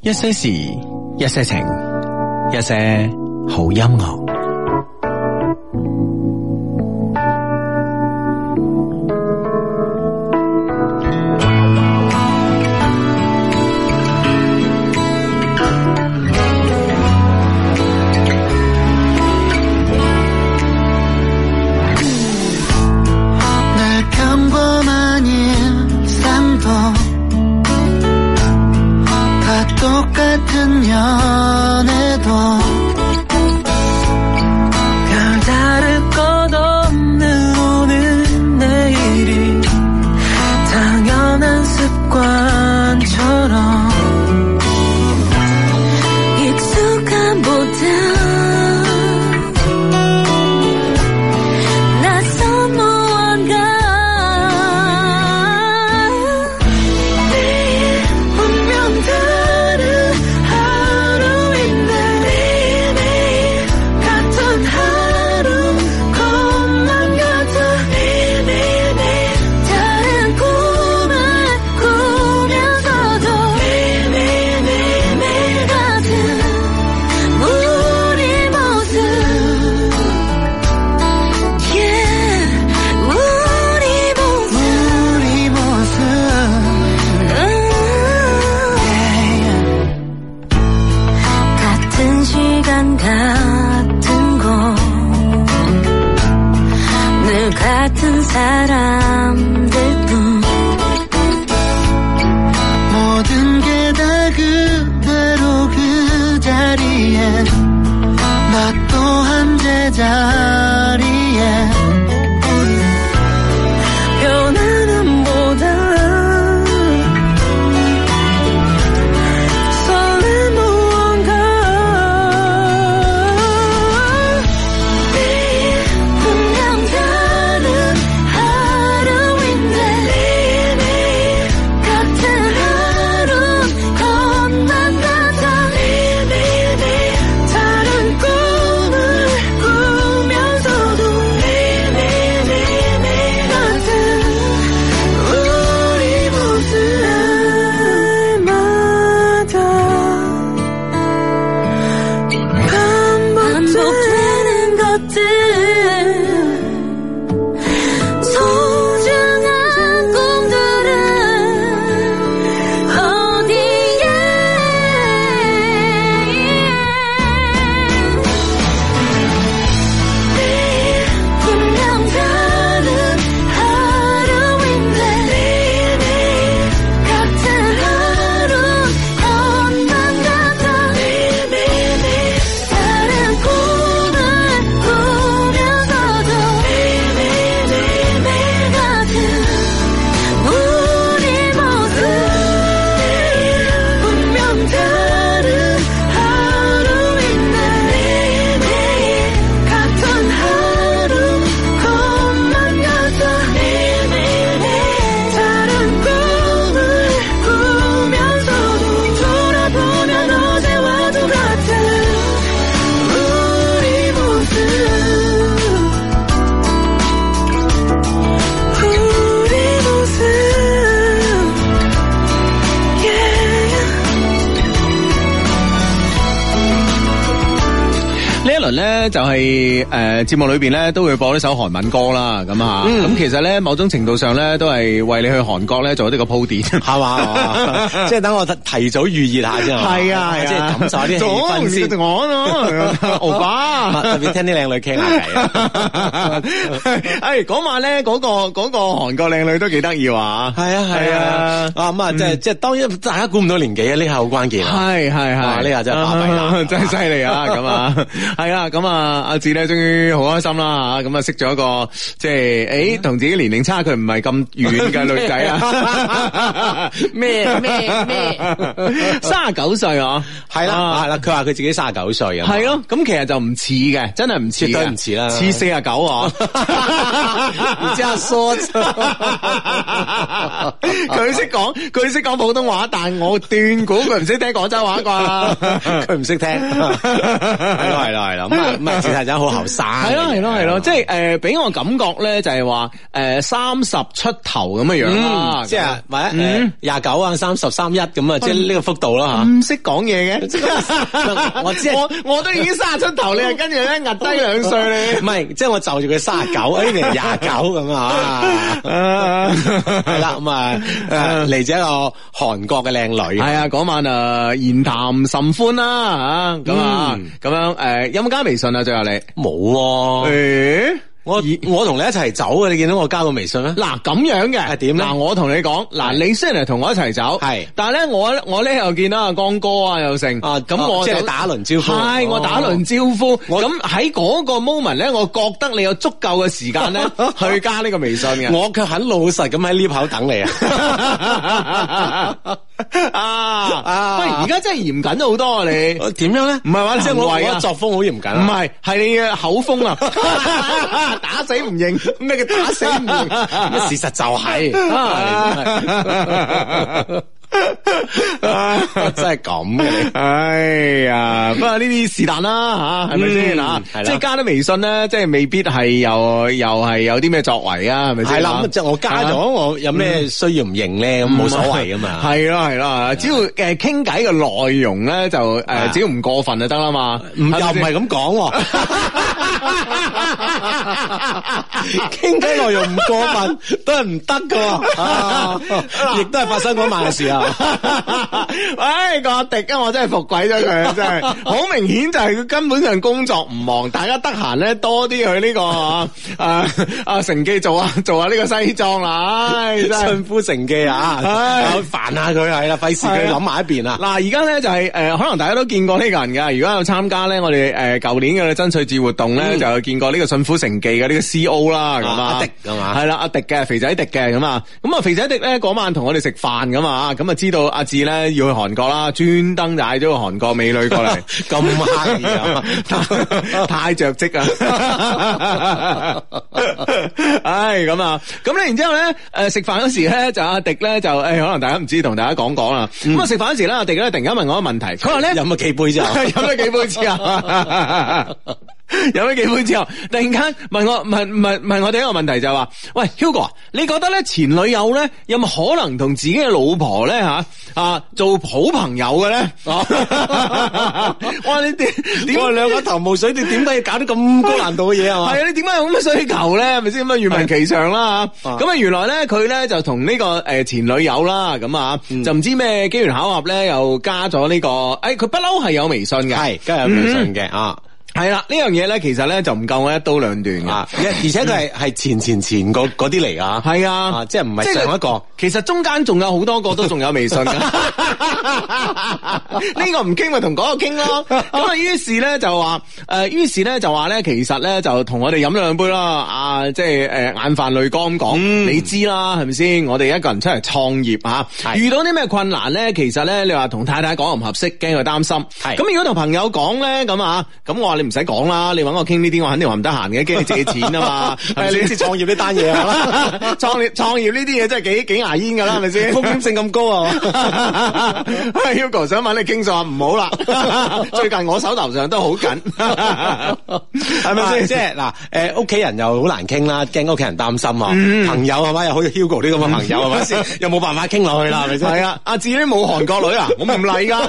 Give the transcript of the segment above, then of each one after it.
一些事，一些情，一些好音樂。 똑같은 연애도 별다를 것 없는 오늘 내일이 당연한 습관처럼 익숙한 보다 낯선 무언가 내일 분명 다른 같은 곳 늘 같은 사람들뿐 모든 게 다 그대로 그 자리에 나 또한 제자리에 변하는 보다 咧就係節目裏邊咧都會播呢首韓文歌啦，咁啊，咁其實咧某種程度上咧都係為你去韓國咧做呢個鋪墊，係嘛， 即係等我提早預熱下啫， 係啊， 即係感受啲氣氛先。 我咯，歐巴， 特別聽啲靚女傾下偈。 嗰晚咧嗰個韓國靚女都幾得意啊，係啊， 咁啊，即係當然大家估唔到年紀啊，呢下好關鍵啊， 係， 呢下真係巴閉啦， 真係犀利啊，咁啊，係啦。咁啊，阿志咧終於好開心啦吓，咁啊識咗一個即係同自己年齡差距唔係咁遠嘅女仔啊，咩39歲啊， 係啦，佢話佢自己39歲啊， 係咯，咁其實就唔似嘅，真係唔似，絕對唔似啦，似49啊，然之後說佢識講普通話，但我斷估佢唔識聽廣州話啩， 佢唔識聽，係咯。 咁啊，事實真好後生。 係咯，即係俾我感覺咧就係話30出頭咁嘅樣啦， 即係或者29啊、30、31咁啊，即係呢個幅度啦嚇。 唔識講嘢嘅， 我知我都已經30出頭，你係跟住咧壓低2歲你。 唔係，即係我就住佢39，呢邊係29咁啊。係啦，咁啊嚟自一個韓國嘅靚女。 係啊，嗰晚言談甚歡啦嚇，咁啊咁樣有冇加微信啊？最後你冇喎。我同你一齊走嘅，你見到我加個微信咩？ 嗱咁樣嘅係點咧？嗱我同你講，嗱你雖然係同我一齊走，係，但係咧我咧又見到阿江哥啊又成，咁我即係打輪招呼， 係我打輪招呼，咁喺嗰個 moment 咧，我覺得你有足夠嘅時間咧去加呢個微信嘅， 我卻很老實咁喺呢口等你啊！ 喂，而家真係嚴謹咗好多啊！你點樣咧？ 唔係話即係我作風好嚴謹， 唔係你嘅口風啊！打死唔認，咩叫打死唔認？ 事實就係，真係咁嘅你。 哎呀，不過呢啲是但啦吓，係咪先啊？即係加啲微信咧，即係未必係又係有啲咩作為啊？係咪先？ 係啦，即係我加咗，我有咩需要唔認咧？咁冇所謂噶嘛。 係咯，只要傾偈嘅內容咧，就只要唔過分就得啦嘛。 又唔係咁講。傾偈內容唔過分都係唔得噶，亦都係發生嗰晚嘅事啊！ 唉，個阿迪啊，我真係服鬼咗佢，真係好明顯就係佢根本上工作唔忙，大家得閒咧多啲去呢個乘機做下呢個西裝啦，唉，真係順夫乘機啊，煩下佢係啦，費事佢諗埋一邊啊！ 嗱，而家咧就係可能大家都見過呢個人噶，如果有參加咧，我哋舊年嘅爭取節活動咧，就有見過呢個順夫乘記嘅呢個 CO 啦，咁阿迪係嘛？ 係啦，阿迪嘅肥仔迪嘅咁啊，肥仔迪咧嗰晚同我哋食飯噶嘛，咁啊知道阿志咧要去韓國啦，專登帶咗個韓國美女過嚟， 咁刻意啊， 太着跡啊！唉，咁啊，咁咧然之後咧，食飯嗰時咧就阿迪咧就可能大家唔知同大家講啦，咁啊食飯嗰時咧阿迪咧突然間問我一個問題，佢話咧飲咗幾杯之後， 飲咗幾杯之後。有咗幾杯之後，突然間問我哋一個問題就係話，喂 Hugo 啊，你覺得咧前女友咧有冇可能同自己嘅老婆咧做好朋友嘅咧？哇！你點我哋兩個頭霧水，你點解要搞啲咁高難度嘅嘢啊？ 係啊，你點解有咁嘅需求咧？係咪先咁啊？願聞其詳啦嚇。咁啊，原來咧佢咧就同呢個前女友啦，咁啊就唔知咩機緣巧合咧，又加咗呢個佢不嬲係有微信嘅， 係梗係有微信嘅啊。 係啦，呢樣嘢咧，其實咧就唔夠我一刀兩斷嘅， 而且佢係前嗰啲嚟啊， 係啊， 即係唔係上一個， 其實中間仲有好多個都仲有微信噶，呢個唔傾咪同嗰個傾咯，咁啊，於是咧就話咧，其實咧就同我哋飲咗兩杯啦，即係眼泛淚光咁講，你知啦，係咪先？我哋一個人出嚟創業吓，遇到啲咩困難咧，其實咧你話同太太講又唔合適，驚佢擔心，咁如果同朋友講咧，咁我話你唔使講啦，你搵我傾呢啲，我肯定話唔得閒嘅，驚你借錢啊嘛。 係你知創業呢單嘢啊， 創業呢啲嘢真係幾牙煙噶啦，係咪先？ 風險性咁高啊 ！Hugo 想問你傾訴下，唔好啦。最近我手頭上都好緊，係咪先？ 即係嗱，屋企人又好難傾啦，驚屋企人擔心啊。朋友係咪又好似 Hugo 呢咁嘅朋友係咪先？又冇辦法傾落去啦，係咪先？ 係啊，阿志呢冇韓國女啊，我唔嚟噶。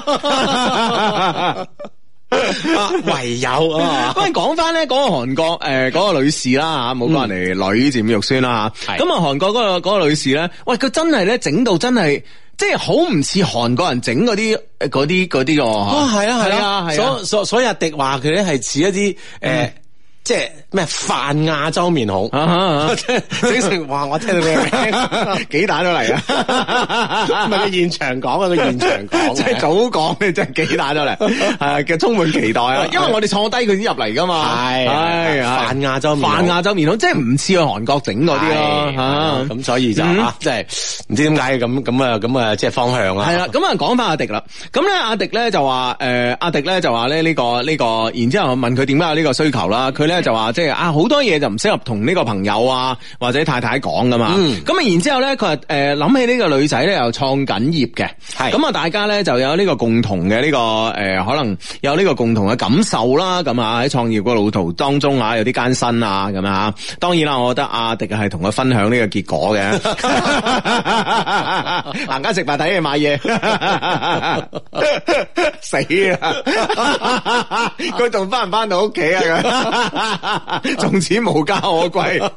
唯有啊！ 不過講翻咧，嗰個韓國嗰個女士啦吓，冇講人哋女佔肉酸啦吓。咁啊，韓國嗰個女士咧，喂，佢真係咧整到真係，即係好唔似韓國人整嗰啲個。 哦，係啊。所以阿迪話佢咧係似一啲即係咩泛亞洲面孔，整成話我聽到你嘅名幾打咗嚟啊！ 唔係佢現場講啊，佢現場講， 即係早講你真係幾打咗嚟，係嘅，充滿期待啊！因為我哋坐低佢先入嚟噶嘛，係泛亞洲面孔，即係唔似去韓國整嗰啲咯， 咁所以就即係唔知點解咁啊，即係方向啦。 係啦，咁啊講翻阿迪啦，咁咧阿迪咧就話咧呢個，然之後問佢點解有呢個需求啦，佢咧咧就話即係啊好多嘢就唔適合同呢個朋友啊或者太太講噶嘛。咁啊然之後咧佢話諗起呢個女仔咧又創緊業嘅，咁啊大家咧就有呢個共同嘅呢個可能有呢個共同嘅感受啦。咁啊喺創業個路途當中啊有啲艱辛啊咁啊。當然啦，我覺得阿迪係同佢分享呢個結果嘅。行街食飯睇嘢買嘢，死啦！佢仲翻唔翻到屋企啊？從此無家可歸。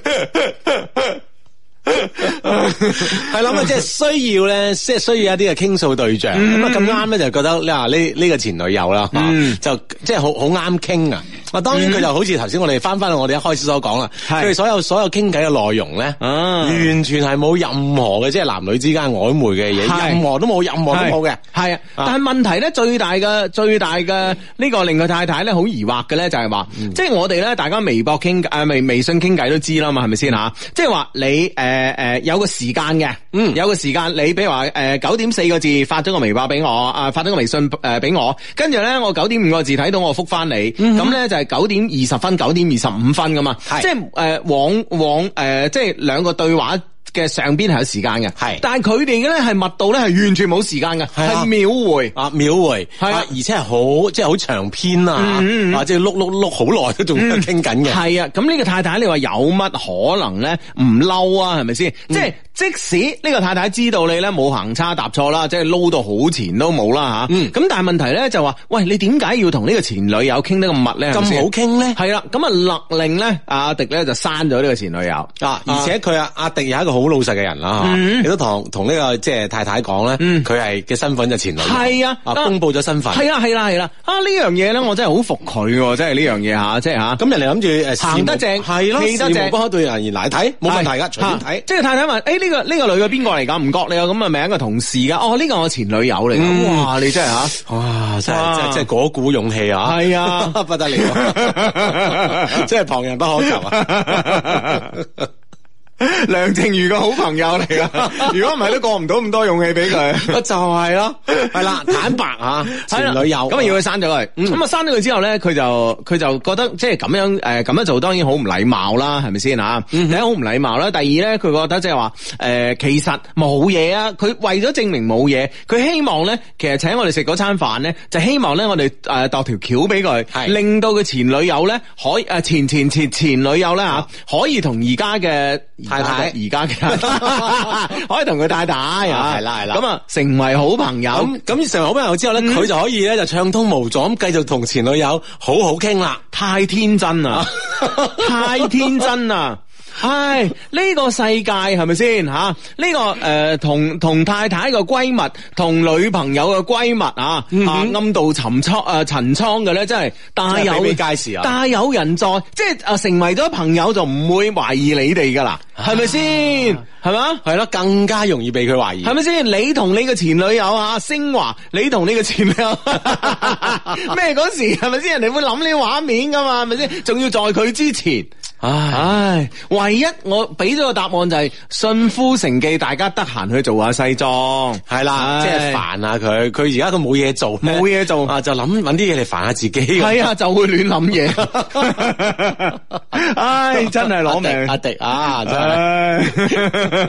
係啦，即係需要咧，即係需要一啲嘅傾訴對象。咁啊咁啱咧，就覺得呢個前女友啦，就即係好啱傾啊！當然佢就好似頭先我哋翻去我哋一開始所講啦，佢哋所有傾偈嘅內容咧，完全係冇任何嘅即係男女之間曖昧嘅嘢，任何都冇嘅。係啊，但係問題咧最大嘅呢個令佢太太咧好疑惑嘅咧就係話，即係我哋咧大家微博傾微信傾偈都知啦嘛，係咪先吓？即係話你有個時間嘅，有個時間你比如話9點4個字發咗個微博俾我，發咗個微信俾我，跟住咧我9點5個字睇到我覆翻你，咁咧就係9點20分、9點25分噶嘛，即係往即係兩個對話嘅上邊係有時間嘅，但係佢哋嘅咧係密度咧係完全冇時間嘅，係秒回，而且係好即係好長篇啊，即係碌好耐都仲傾緊嘅。係啊，咁呢個太太你話有乜可能咧唔嬲啊？係咪先？即使呢個太太知道你咧冇行差踏錯啦，即係撈到好前都冇啦吓，咁但係問題咧就話，喂，你點解要同呢個前女友傾得咁密咧？咁好傾咧？係啦，咁啊勒令咧阿迪咧就刪咗呢個前女友而且佢阿迪有一個好老實嘅人啦，亦都同呢個即係太太講咧，佢係嘅身份就前女友，係啊，公布咗身份，係啦，呢樣嘢咧，我真係好服佢，真係呢樣嘢吓，即係吓，咁人哋諗住行得正，係咯，事無不可對人言嚟睇，冇問題噶，隨便睇。即係太太問，呢個女嘅邊個嚟噶？唔覺你有咁嘅名嘅同事噶？呢個我前女友嚟噶。哇，你真係吓，哇，真係嗰股勇氣啊！係啊，不得了，真係旁人不可及啊！梁靜茹個好朋友嚟噶，如果唔係都過唔到咁多勇氣俾佢，就係咯，係啦，坦白啊，前女友，咁啊要佢刪咗佢，咁啊刪咗佢之後咧，佢就覺得即係咁樣做，當然好唔禮貌啦，係咪先啊？第一好唔禮貌啦，第二咧佢覺得即係話其實冇嘢啊，佢為咗證明冇嘢，佢希望咧，其實請我哋食嗰餐飯咧，就希望咧我哋度條橋俾佢，令到佢前女友咧可以前女友咧吓可以同而家嘅太太而家嘅可以同佢太太係啦，咁啊成為好朋友，咁成為好朋友之後咧，佢就可以咧就暢通無阻咁繼續同前女友好好傾啦。太天真啦，太天真啦！唉，呢個世界係咪先吓？呢個同太太嘅閨蜜，同女朋友嘅閨蜜暗度陳倉嘅咧，真係大有街市啊！大有人在，即係成為咗朋友就唔會懷疑你哋噶啦，係咪先？係嘛？係咯，更加容易被佢懷疑，係咪先？你同你嘅前女友升華，你同你嘅前女友咩嗰時係咪先？人哋會諗呢啲畫面噶嘛？係咪先？仲要在佢之前。唉，唯一我俾咗個答案就係信夫成記，大家得閒去做下西裝，係啦，即係煩下佢。佢而家佢冇嘢做就揾啲嘢嚟煩下自己。係啊，就會亂諗嘢。唉，真係攞命，阿迪啊，真係。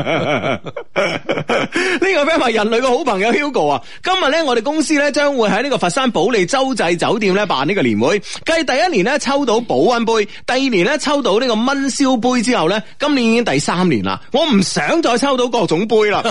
呢個 friend 話人類嘅好朋友 Hugo 啊，今日咧我哋公司咧將會喺呢個佛山保利洲際酒店咧辦呢個年會，繼第一年咧抽到保溫杯，第二年咧抽到呢個燜燒杯之後咧，今年已經第3年啦。我唔想再抽到各種杯啦。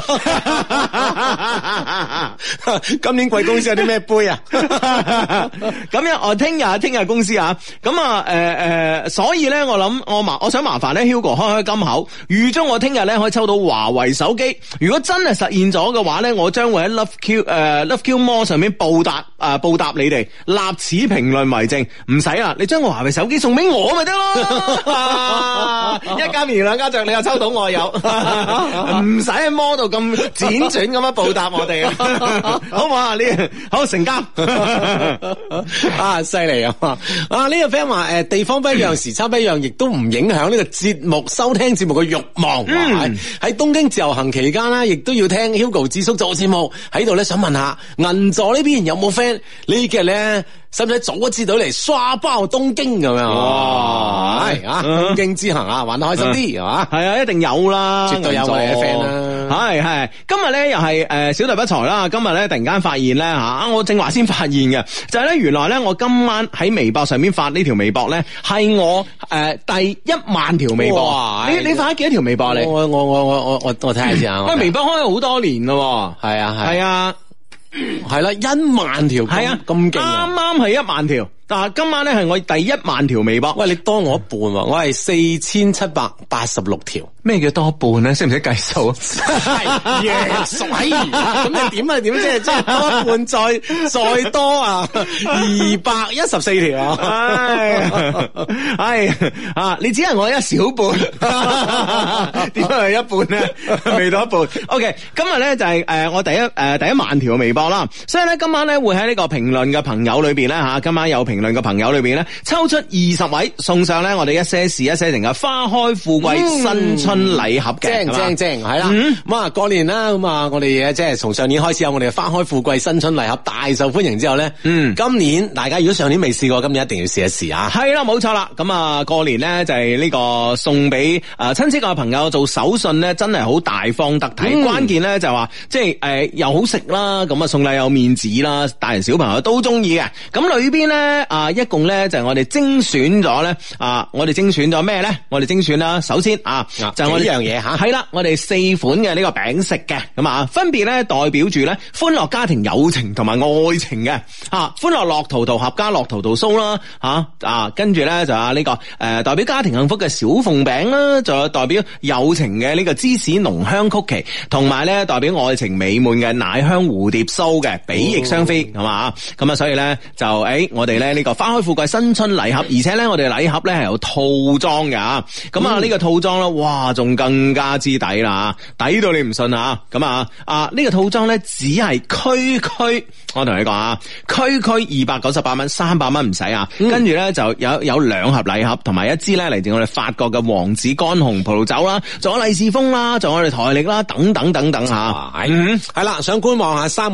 今年貴公司有啲咩杯啊？咁樣我聽日公司啊，咁啊所以咧我想麻煩咧 Hugo 開金口，預祝我聽日咧可以抽到華為手機。如果真係實現咗嘅話咧，我將會喺 Love Q More 上面報答你哋，立此評論為證。唔使啦，你將個華為手機送俾我咪得咯。一家棉兩家着，你又抽到我有，唔使喺摩度咁輾轉咁樣報答我哋，好唔好啊？呢好成交啊，犀利啊！呢個 friend 話地方不一樣，時差不一樣，亦都唔影響呢個節目收聽節目嘅慾望。喺東京自由行期間啦，亦都要聽 Hugo 智叔做節目喺度咧，想問下銀座呢邊有冇 friend 呢幾日咧，使唔使早一支隊嚟刷爆東京咁樣？ 哇係啊，東京之行啊，玩得開心啲係嘛？ 係啊，一定有啦， 絕對有我哋嘅 friend 啦。 係，今日咧又係小弟不才啦。今日咧突然間發現咧吓，我正話先發現嘅，就係咧原來咧我今晚喺微博上面發呢條微博咧，係我第10000條微博。 哇你發咗幾多條微博你？ 我睇下先啊。 喂，微博開咗好多年咯。 係啊係啊。 係啦，10000條， 係啊， 咁勁啊！ 啱啱係10000條，但係今晚咧係我第10000條微博。 喂，你多我一半喎，我係4786條。 咩叫多一半咧？識唔識計數？ 係約數，咁你點啊？點即係多一半再多啊？214條啊！ 係啊，你只係我一小半，點解係一半咧？未到一半。OK， 今日咧就係我第一萬條微博啦，所以咧今晚咧會喺呢個評論嘅朋友裏邊咧吓，今晚有評論嘅朋友裏邊咧抽出20位送上咧我哋一些事一些情嘅花開富貴新春禮盒嘅， 正係啦。咁啊過年啦，咁啊我哋即係從上年開始有我哋嘅花開富貴新春禮盒大受歡迎之後咧，今年大家如果上年未試過，今年一定要試一試啊！係啦，冇錯啦。咁啊過年咧就係呢個送俾親戚嘅朋友做手信咧，真係好大方得體。關鍵咧就話即係又好食啦，咁啊送禮有面子啦，大人小朋友都中意嘅。咁裏邊咧一共咧就係我哋精選咗咧我哋精選咗咩咧？我哋精選啦，首先就係我哋呢樣嘢吓，係啦，我哋4款嘅呢個餅食嘅，咁啊分別咧代表住咧歡樂家庭友情同埋愛情嘅歡樂樂淘淘合家樂淘淘酥啦跟住咧就呢個代表家庭幸福嘅小鳳餅啦，仲有代表友情嘅呢個芝士濃香曲奇，同埋咧代表愛情美滿嘅奶香蝴蝶酥嘅比翼雙飛，係嘛？咁啊所以咧就我哋咧呢個花開富貴新春禮盒，而且咧我哋禮盒咧係有套裝嘅咁啊呢個套裝咧哇仲更加之抵啦，抵到你唔信啊！咁呢個套裝咧只係區，我同你講區298蚊，300蚊唔使跟住咧就有2盒禮盒，同埋一支咧嚟自我哋法國嘅王子乾紅葡萄酒啦，仲有利是封啦，仲有我哋台曆啦，等等吓。係啦，想觀望下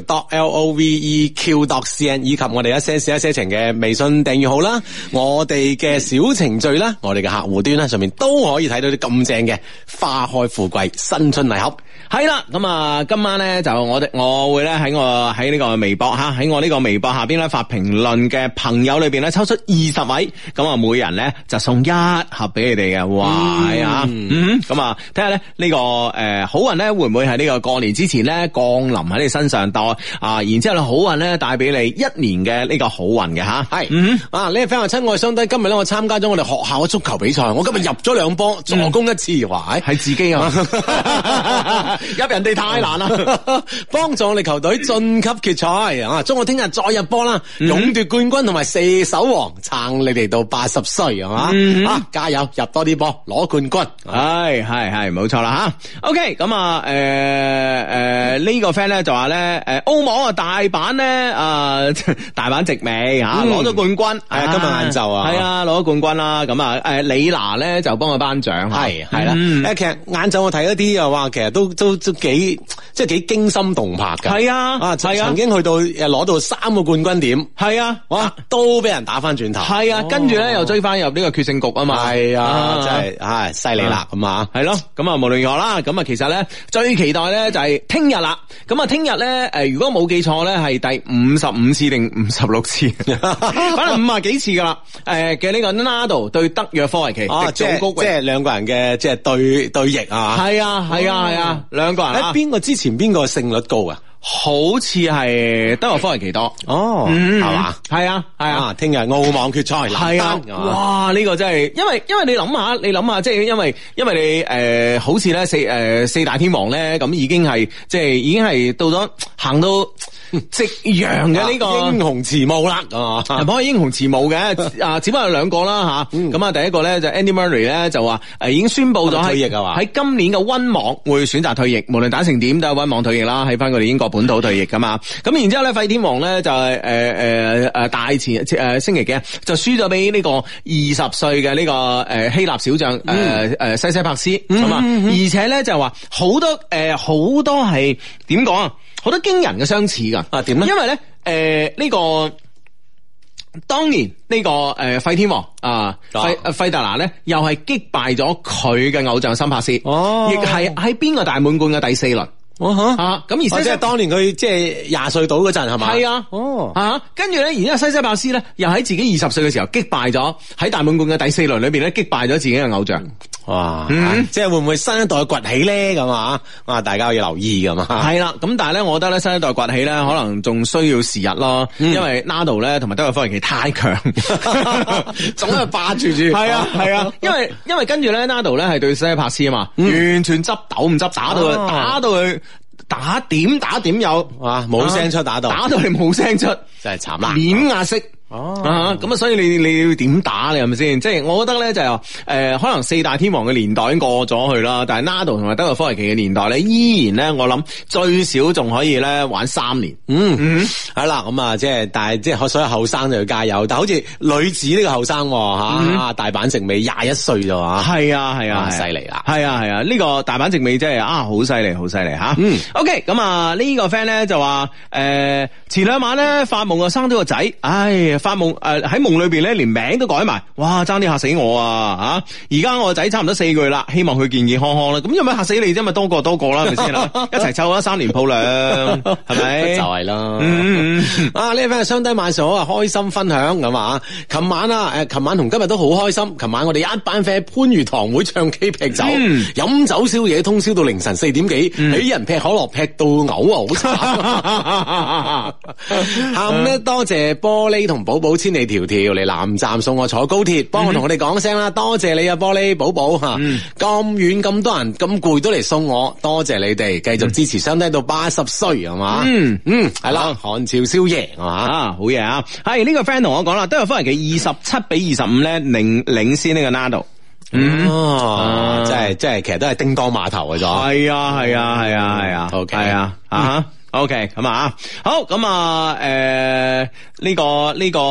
3w.loveq.cn 以及我哋一些事一些情嘅微信訂閱號啦，我哋嘅小程序啦，我哋嘅客戶端啦，上面都可以睇到啲咁正嘅花開富貴新春禮盒。係啦，咁今晚咧就我會咧喺呢個微博喺我呢個微博下邊咧發評論嘅朋友裏邊咧抽出20位，咁每人咧就送1盒俾你哋嘅。哇，係咁睇下咧呢個好運咧會唔會喺呢個過年之前咧降臨喺你身上然之後咧好運咧帶俾你1年嘅呢個好運嘅吓。係呢個 friend 話親愛相低，今日咧我參加咗我哋學校嘅足球比賽，我今日入咗2波，助攻1次，哇！係自己入人哋太難啦，幫助我哋球隊晉級決賽祝我聽日再入波啦，勇奪冠軍同埋射手王，撐你哋到80歲係嘛？加油，入多啲波，攞冠軍。係冇錯啦吓。OK， 咁呢個 friend 咧就話咧澳網大阪咧大阪直美攞咗冠軍。係今日晏晝係攞咗冠軍啦。咁李娜咧就幫佢頒獎。係啦。其實晏晝我睇一啲又話其實都幾即係幾驚心動魄噶。係啊，曾經去到攞到3個冠軍點。係啊，哇，都俾人打翻轉頭。係啊，跟住咧又追翻入呢個決勝局啊嘛。係啊，真係犀利啦咁啊。係咯，咁無論如何啦，咁其實咧最期待咧就係聽日啦。咁聽日咧如果冇記錯咧係第55次定56次，反正50幾次噶啦。嘅呢個 Nadal 對德約科維奇，即係兩個人嘅即係對弈啊。係啊，兩個人邊個之前邊個勝率高啊？好似係德約科維奇多係嘛？係啊，聽日澳網決賽係啊，哇！呢個真係，因為你諗下，即係因為你好似咧四大天王咧，咁已經係到咗行到夕陽嘅呢個英雄遲暮啦，係唔可以英雄遲暮嘅只不過有2個啦吓。咁第一個咧就 Andy Murray 咧就話已經宣布咗喺今年嘅溫網會選擇退役，無論打成點都係溫網退役啦，喺翻佢哋英國本土退役噶嘛。咁然之後咧費天王咧就係大前星期幾就輸咗俾呢個20歲嘅呢個希臘小將西西柏斯咁而且咧就話好多係點講好多驚人嘅相似噶。點咧？因為咧呢個。當年呢個費天王啊，費達拿咧，又係擊敗咗佢嘅偶像森帕斯，亦係喺邊個大滿貫嘅第4輪。咁而即係當年佢即係20歲到嗰陣係嘛？ 係啊，跟住咧，然之後西西帕斯咧，又喺自己20歲嘅時候擊敗咗喺大滿貫嘅第4輪裏邊咧，擊敗咗自己嘅偶像。 哇！即係會唔會新一代崛起咧？咁啊，大家要留意㗎嘛。 係啦，咁但係咧，我覺得咧，新一代崛起咧，可能仲需要時日咯，因為 Nadal 咧同埋德約科維奇太強，總係霸住。係啊，因為跟住咧 Nadal 咧係對西西帕斯啊嘛，完全執豆唔執，打到佢。打點有冇聲出，打到你冇聲出， 真係慘啦， 碾壓式。咁啊，所以你要點打你係咪先？即係我覺得咧就可能4大天王嘅年代已經過咗去啦，但係 Nadal 同埋德約科維奇嘅年代咧，依然咧我諗最少仲可以咧玩3年。 係啦，咁啊即係，但係即係所有後生就要加油。但係好似女子呢個後生吓，大阪直美21歲咋嘛？係啊，犀利啦！ 係啊，呢個大阪直美真係好犀利吓。OK， 咁啊呢個 friend 咧就話前2晚咧發夢啊生咗個仔，發夢喺夢裏邊咧連名都改埋，哇爭啲嚇死我啊！而家我個仔差唔多4個月啦，希望佢健健康康啦。咁有咩嚇死你啫？咪多個啦，係咪先啦？一齊湊咗3年鋪兩，係咪？ 就係啦。呢個 friend 雙低晚上好啊，開心分享咁啊！琴晚同今日都好開心。琴晚我哋一班 friend 番禺堂會唱 K 劈酒，飲酒宵夜通宵到凌晨4點幾，俾人劈可樂劈到嘔啊！好慘。下午咧多謝玻璃同寶寶千里迢迢嚟南站送我坐高鐵，幫我哋講聲啦，多謝你啊玻璃寶寶吓，咁遠咁多人咁攰都嚟送我，多謝你哋繼續支持雙低到80歲係嘛？係啦，韓朝宵夜係嘛？ 好嘢啊！係呢個 friend 同我講啦，都有翻嚟嘅27-25咧領先呢個 Nadal。 即係其實都係叮當碼頭嘅咗。 係啊 OK 係啊OK， 咁啊，好，咁啊，呢個，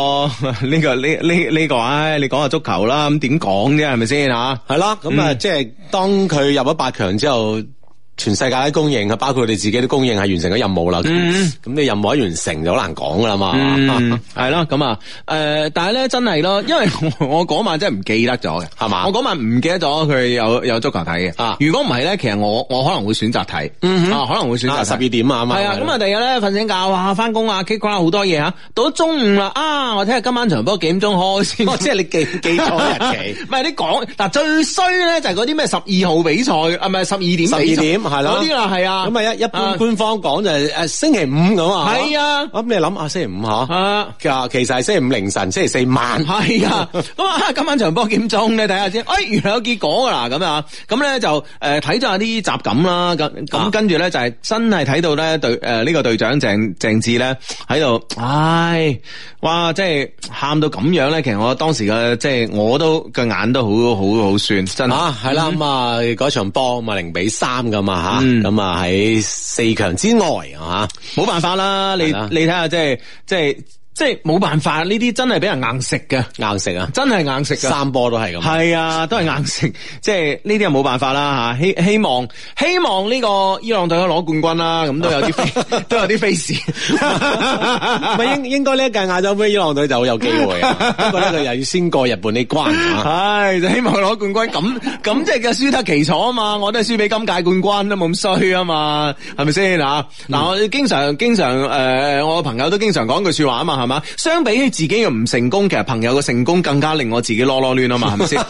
你講下足球啦，咁點講啫，係咪先吓？ 係啦，咁啊，即係當佢入咗8強之後。全世界都公認，包括佢哋自己都公認係完成咗任務啦。咁你任務一完成就好難講噶啦嘛。 係咯，咁啊，但係咧真係咯，因為我嗰晚真係唔記得咗嘅，係嘛？我嗰晚唔記得咗佢有足球睇嘅。如果唔係咧，其實我可能會選擇睇。可能會選擇12點啊嘛。係啊，咁啊，第二日咧瞓醒覺，哇，翻工啊 ，K 好多嘢吓，到咗中午啦，我睇下今晚場波幾點鐘開先。 即係你記錯日期。 唔係你講嗱，最衰咧就係嗰啲咩12號比賽，唔係12點。 係咯， 嗰啲啦，係啊， 咁啊一般官方講就係星期5咁啊， 係啊， 咁你諗下星期5吓，其實係星期5凌晨，星期4晚， 係啊，咁啊今晚場波幾點鐘咧睇下先，原來有結果噶啦，咁啊，咁咧就睇咗下啲集錦啦，咁跟住咧就係真係睇到咧呢個隊長鄭智咧喺度，哇，即係喊到咁樣咧，其實我當時嘅即係我都個眼都好酸，真係啦，咁啊嗰場波咁啊0-3噶嘛吓，咁啊喺4強之外冇辦法啦，你睇下即係冇辦法，呢啲真係俾人硬食嘅， 硬食啊， 真係硬食嘅 ，3波都係咁， 係啊，都係硬食，即係呢啲又冇辦法啦吓，希望呢個伊朗隊攞冠軍啦，咁都有啲飛士， 咪應該呢一屆亞洲杯伊朗隊就好有機會啊，不過咧佢又要先過日本呢關係就希望攞冠軍，咁即係嘅輸得其所啊嘛，我都係輸俾今屆冠軍都冇咁衰啊嘛，係咪先嗱？我經常我朋友都經常講句說話啊嘛。係嘛？相比起自己嘅唔成功，其實朋友嘅成功更加令我自己囉囉攣啊嘛，係咪先？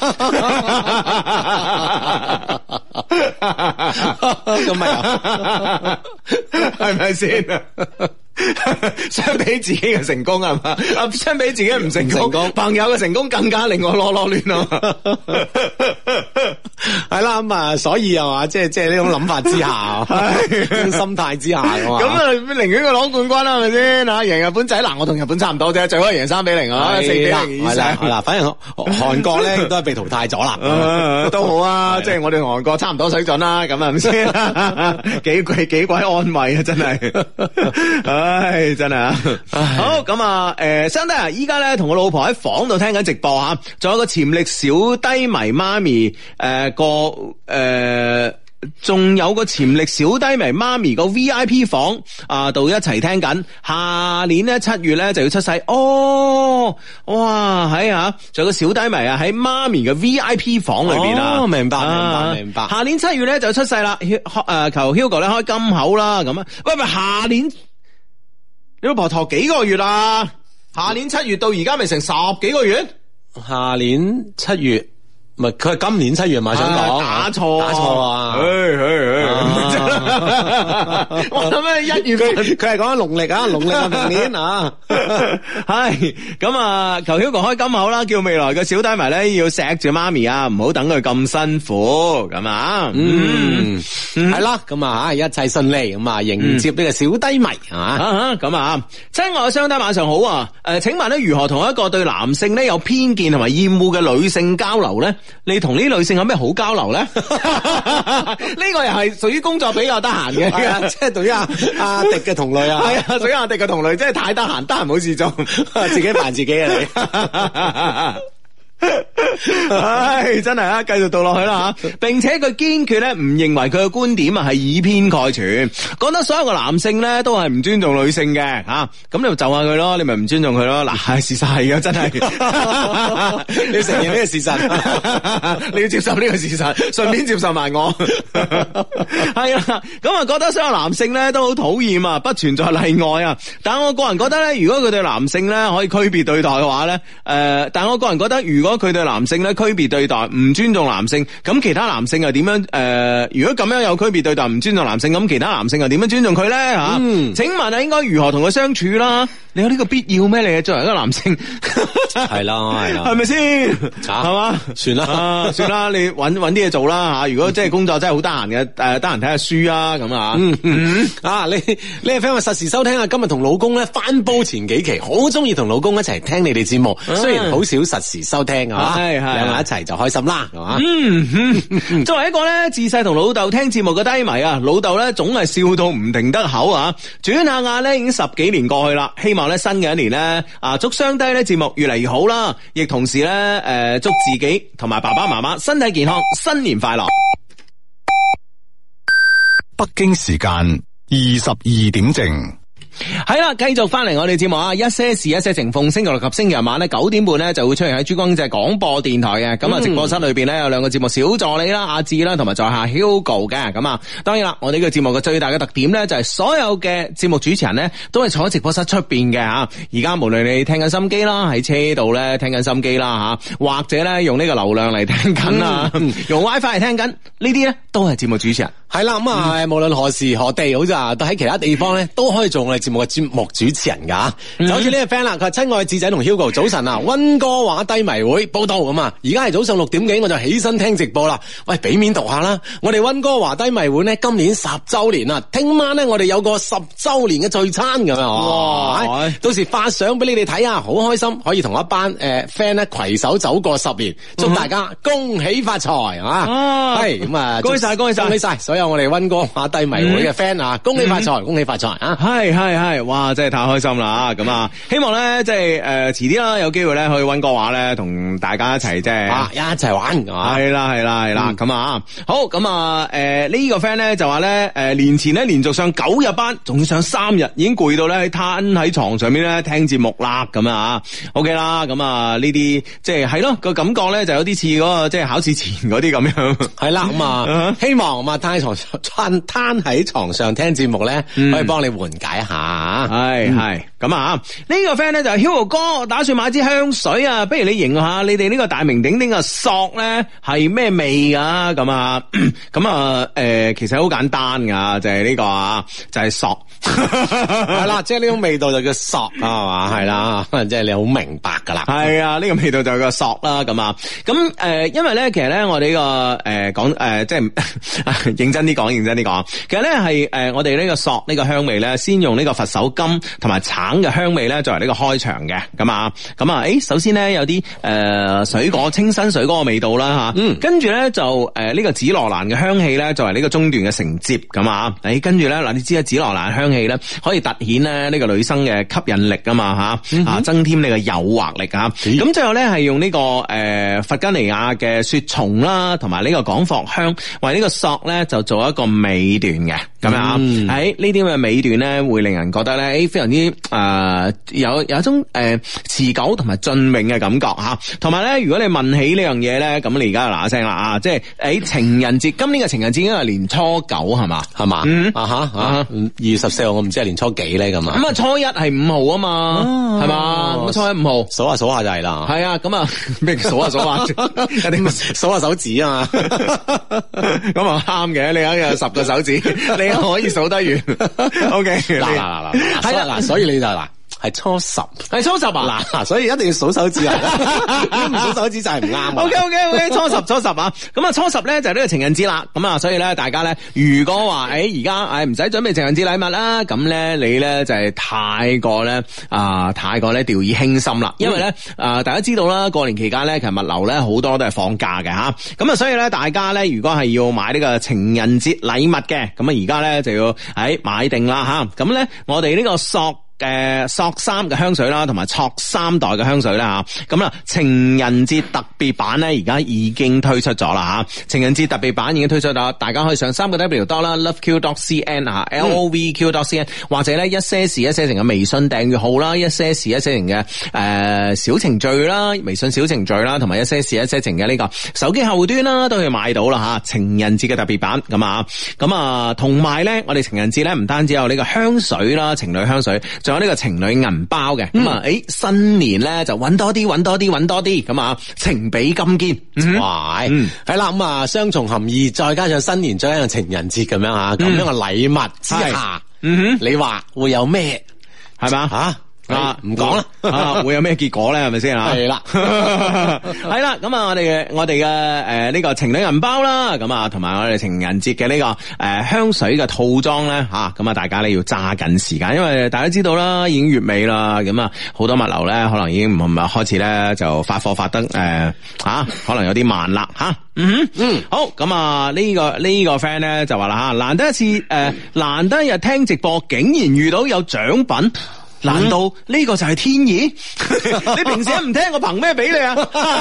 咁咪係咪先？相比自己嘅成功係嘛？相比自己唔成功，朋友嘅成功更加令我囉囉攣啊嘛。 係啦，咁啊，所以係嘛，即係呢種諗法之下，呢種心態之下， 咁啊，寧願佢攞冠軍啦，係咪先？贏日本仔嗱，我同日本差唔多啫，最好係贏3-0啊，4-0以上。係啦，反正韓國咧都係被淘汰咗啦，都好啊，即係我哋同韓國差唔多水準啦，咁係咪先？幾鬼安慰啊，真係，唉，真係啊。好，咁啊，相弟啊，依家咧同我老婆喺房度聽緊直播吓，仲有個潛力小低迷媽咪， 仲有個潛力小低迷媽咪個 VIP 房啊，度一齊聽緊。下年咧7月咧就要出世哦，哇係啊，仲有個小低迷啊喺媽咪嘅 VIP 房裏邊啊， 明白。 下年7月咧就出世啦，求 Hugo 咧開金口啦咁啊，喂，下年你老婆陀幾個月啊？下年7月到而家咪成10幾個月？ 下年7月。唔係，佢係今年7月嘛，想講打錯啊！我諗咩1月佢係講緊農曆啊，農曆啊明年啊， 係咁啊！求 Hugo 開金口啦，叫未來嘅小低迷咧要錫住媽咪啊，唔好等佢咁辛苦咁啊！ 係啦，咁啊一切順利咁啊，迎接呢個小低迷係嘛？ 咁啊，親愛嘅雙低晚上好啊！請問咧如何同一個對男性咧有偏見同埋厭惡嘅女性交流咧？你同呢女性有咩好交流咧？呢個又係屬於工作比較得閒嘅， 即係對於阿迪嘅同類啊， 係啊，屬於阿迪嘅同類，即係太得閒，得閒冇事做， 自己煩自己啊你。 唉，真係啊，繼續讀落去啦吓，並且佢堅決咧唔認為佢嘅觀點啊係以偏概全，覺得所有嘅男性咧都係唔尊重女性嘅吓，咁你就下佢咯，你咪唔尊重佢咯，嗱，事實係嘅，真係， 你要承認呢個事實， 你要接受呢個事實，順便接受埋我，係啊，咁啊覺得所有男性咧都好討厭啊，不存在例外啊，但我個人覺得咧，如果佢對男性咧可以區別對待嘅話咧，但我個人覺得如果佢對男性咧區別對待，唔尊重男性，咁其他男性又點樣？如果咁樣有區別對待，唔尊重男性，咁其他男性又點樣尊重佢咧？吓，請問啊，應該如何同佢相處啦？你有呢個必要咩？你作為一個男性， 係啦， 係咪先？係嘛？ 算啦， 算啦，你搵啲嘢做啦吓。如果即係工作真係好得閒嘅，得閒睇下書啊咁啊。 你係 friend 話實時收聽啊，今日同老公咧翻煲前幾期，好中意同老公一齊聽你哋節目，雖然好少實時收聽啊，兩個一齊就開心啦，係嘛？ 作為一個咧自細同老豆聽節目嘅低迷啊，老豆咧總係笑到唔停得口啊。轉下眼咧已經10幾年過去啦，希望咧新嘅一年咧祝雙低咧節目越嚟越好啦，亦同時咧祝自己同埋爸爸媽媽身體健康，新年快樂。 北京時間22點正。 係啦，繼續翻嚟我哋節目啊！一些事一些情，逢星期六及星期日晚咧9點半咧就會出現喺珠江經濟廣播電台嘅。咁啊，直播室裏邊咧有兩個節目小助理啦，阿志啦，同埋在下 Hugo 嘅。咁啊，當然啦，我哋呢個節目嘅最大嘅特點咧就係所有嘅節目主持人咧都係坐喺直播室出邊嘅吓。而家無論你聽緊心機啦，喺車度咧聽緊心機啦吓，或者咧用呢個流量嚟聽緊啊，用 WiFi 嚟聽緊，呢啲咧都係節目主持人。 係啦，咁啊，無論何時何地，好似啊，都喺其他地方咧都可以做我哋節目嘅節目主持人噶。就好似呢個 friend 啦，佢話親愛智仔同 Hugo 早晨啊，溫哥華低迷會報道咁啊，而家係早上6點幾，我就起身聽直播啦。喂，俾面讀下啦，我哋溫哥華低迷會咧今年10周年啦，聽晚咧我哋有個10周年嘅聚餐咁樣。哇！到時發相俾你哋睇啊，好開心，可以同一班friend 咧攜手走過10年，祝大家恭喜發財啊！係咁啊， 恭喜晒，恭喜晒， 所有我哋溫哥華低迷會嘅 friend 啊，恭喜發財，恭喜發財啊！ 係，哇，真係太開心啦！咁啊，希望咧即係遲啲啦，有機會咧去溫哥華咧同大家一齊即係一齊玩， 係啦，咁啊，好咁啊，呢個 friend 咧就話咧年前咧連續上9日班，仲要上3日，已經攰到咧攤喺床上面咧聽節目啦，咁啊 ，OK 啦，咁啊呢啲即係咯個感覺咧就有啲似嗰個即係考試前嗰啲咁樣， 係啦，咁啊希望咁啊攤喺床上聽節目咧，可以幫你緩解一下。 係咁啊！呢個 friend 咧就係 Hugo 哥，打算買支香水啊，不如你形容下你哋呢個大名鼎鼎嘅索咧係咩味啊？咁啊，其實好簡單噶，就係呢個啊，就係索。 係啦，即係呢種味道就叫索啊嘛，係啦，即係你好明白噶啦。 係啊，呢個味道就叫索啦，咁啊，咁因為咧，其實咧，我哋呢個講即係認真啲講，其實咧係我哋呢個索呢個香味咧，先用呢個佛手柑同埋橙嘅香味咧作為呢個開場嘅，咁啊，首先咧有啲水果清新水果嘅味道啦吓，跟住咧就呢個紫羅蘭嘅香氣咧作為呢個中段嘅承接，咁啊，跟住咧嗱，你知啊，紫羅蘭香氣咧可以凸顯咧呢個女生嘅吸引力啊嘛吓，增添呢個誘惑力啊，咁最後咧係用呢個弗吉尼亞嘅雪松啦，同埋呢個廣藿香為呢個索咧就做一個尾段嘅，咁樣啊，喺呢啲咁嘅尾段咧會令人覺得咧非常之有一種持久同埋雋永嘅感覺吓，同埋咧如果你問起呢樣嘢咧，咁你而家就嗱一聲啦啊，即係喺情人節，今年嘅情人節應該係年初9係嘛 2月14號我唔知係年初幾咧咁啊， 咁啊初一係5號啊嘛，係嘛，咁初一5號數下就係啦， 係啊，咁啊咩數下一定數下手指啊嘛， 咁啊啱嘅，你有10個手指，你可以數得完。OK， 嗱，所以你就嗱。係初10啊！嗱，所以一定要數手指啊！如果唔數手指就係唔啱。 OK， 初10啊！咁啊，初10咧就係呢個情人節啦。咁啊，所以咧大家咧，如果話而家唔使準備情人節禮物啦，咁咧你咧就係太過咧掉以輕心啦。因為咧大家知道啦，過年期間咧其實物流咧好多都係放假嘅吓。咁啊，所以咧大家咧如果係要買呢個情人節禮物嘅，咁啊而家咧就要買定啦吓。咁咧我哋呢個索3嘅香水啦，同埋戳3代嘅香水啦吓，咁啦情人節特別版咧而家已經推出咗啦吓，情人節特別版已經推出咗，大家可以上3W 啦 loveq.cn 啊 LOVQ.cn 或者咧一些事一些情嘅微信訂閱號啦，一些事一些情嘅小程序啦，微信小程序啦，同埋一些事一些情嘅呢個手機客戶端啦，都可以買到啦吓，情人節嘅特別版咁啊，同埋咧我哋情人節咧唔單止有呢個香水啦，情侶香水。仲有呢個情侶銀包嘅，咁啊，新年咧就揾多啲，咁啊，情比金堅， 哇，係啦，咁啊，雙重含義，再加上新年，再加上情人節咁樣吓，咁樣嘅禮物之下，你話會有咩？係咪啊？唔講啦， 會有咩結果咧？係咪先啊？ 係啦， 係啦，咁啊，我哋嘅呢個情侶銀包啦，咁啊，同埋我哋情人節嘅呢個香水嘅套裝咧吓，咁啊，大家咧要揸緊時間，因為大家知道啦，已經月尾啦，咁啊，好多物流咧可能已經唔係開始咧就發貨發得可能有啲慢啦吓。好，咁啊呢個 friend 咧就話啦吓，難得一日聽直播，竟然遇到有獎品。難道呢個就係天意？你平時唔聽，我憑咩俾你啊？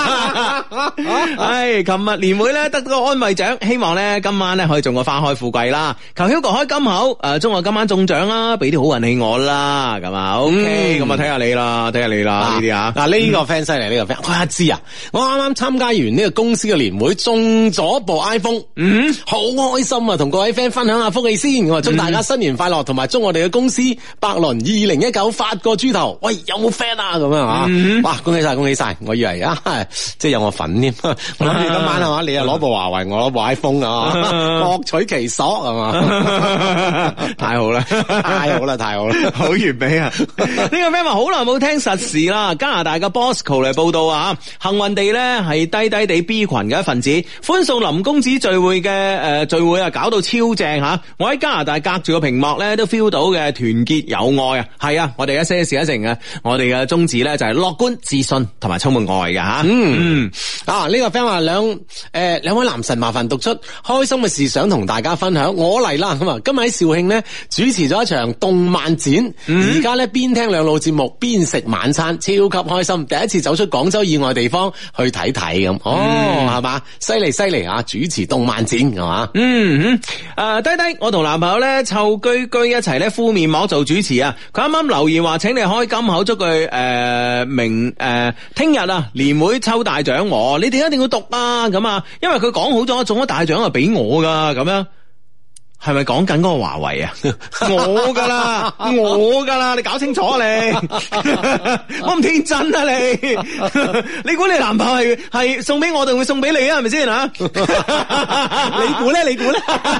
琴日年會咧得個安慰獎，希望咧今晚咧可以中個花開富貴啦。求 Hugo 開金口，祝我今晚中獎啦，俾啲好運氣我啦，咁啊 OK，咁啊睇下你啦呢啲啊。嗱呢個 friend 犀利，呢個 friend，我知啊，我啱啱參加完呢個公司嘅年會，中咗部 iPhone，好開心啊！同各位 friend 分享下福氣先，我祝大家新年快樂，同埋祝我哋嘅公司百倫2019發個豬頭，喂，有冇 friend 啊？咁樣啊，哇，恭喜晒！我以為即係有我份添，我諗住今晚係嘛，你又攞部華為，我攞部 iPhone 啊，各取其所係嘛，太好啦，好完美啊！呢個 friend 話好耐冇聽實時啦，加拿大嘅 Bosco 嚟報道啊，幸運地咧係低低地 B 群嘅一份子，歡送林公子聚會嘅聚會啊，搞到超正吓！我喺加拿大隔住個屏幕咧都 feel 到嘅團結友愛啊，係啊，我哋一些事一些情嘅，我哋嘅宗旨咧就係樂觀、自信同埋充滿愛嘅吓。呢個 friend 話兩位男神麻煩讀出開心嘅事想同大家分享，我嚟啦咁啊！今日喺肇慶咧主持咗一場動漫展，而家咧邊聽兩路節目邊食晚餐，超級開心！第一次走出廣州以外地方去睇睇咁，係嘛？犀利啊！主持動漫展係嘛？低低，我同男朋友咧湊居一齊咧敷面膜做主持啊！佢啱啱留言話請你開金口，祝佢聽日啊年會抽大獎，你哋一定要讀啊！咁啊，因為佢講好咗中咗大獎啊，俾我噶咁樣。係咪講緊嗰個華為啊？我噶啦，你搞清楚啊你！我唔天真啊你！你估你男朋友係送俾我定會送俾你啊？係咪先啊？你估咧？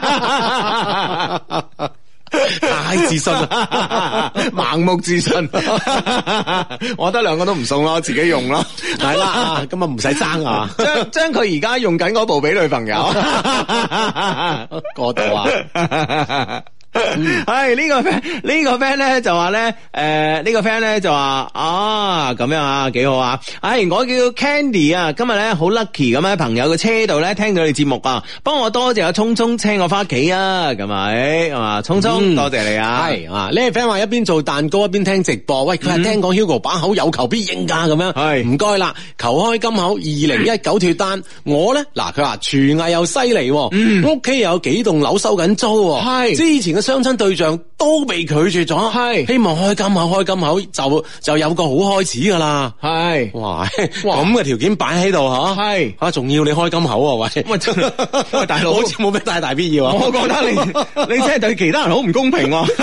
太自信啦，盲目自信。我覺得兩個都唔送咯，自己用咯。係啦，咁啊唔使爭啊，將佢而家用緊嗰部俾女朋友。過度啊！ 係呢個 friend 咧就話咧，呢個 friend 咧就話咁樣啊，幾好啊！我叫 Candy 啊，今日咧好 lucky 咁喺朋友嘅車度咧聽到你節目啊，幫我多謝阿聰聰車我翻屋企啊，咁咪啊，聰聰多謝你啊！ 係啊，呢個 friend 話一邊做蛋糕一邊聽直播，喂，佢係聽講 Hugo 把口有求必應噶，咁樣係唔該啦，求開金口2019脫單，我咧嗱佢話廚藝又犀利，屋企又有幾棟樓收緊租， 係之前嘅相親對象都被拒絕咗， 係希望開金口就有個好開始噶啦， 係哇咁嘅條件擺喺度吓， 係啊仲要你開金口啊，喂大佬好似冇咩太大必要啊， 我覺得你真係對其他人好唔公平喎，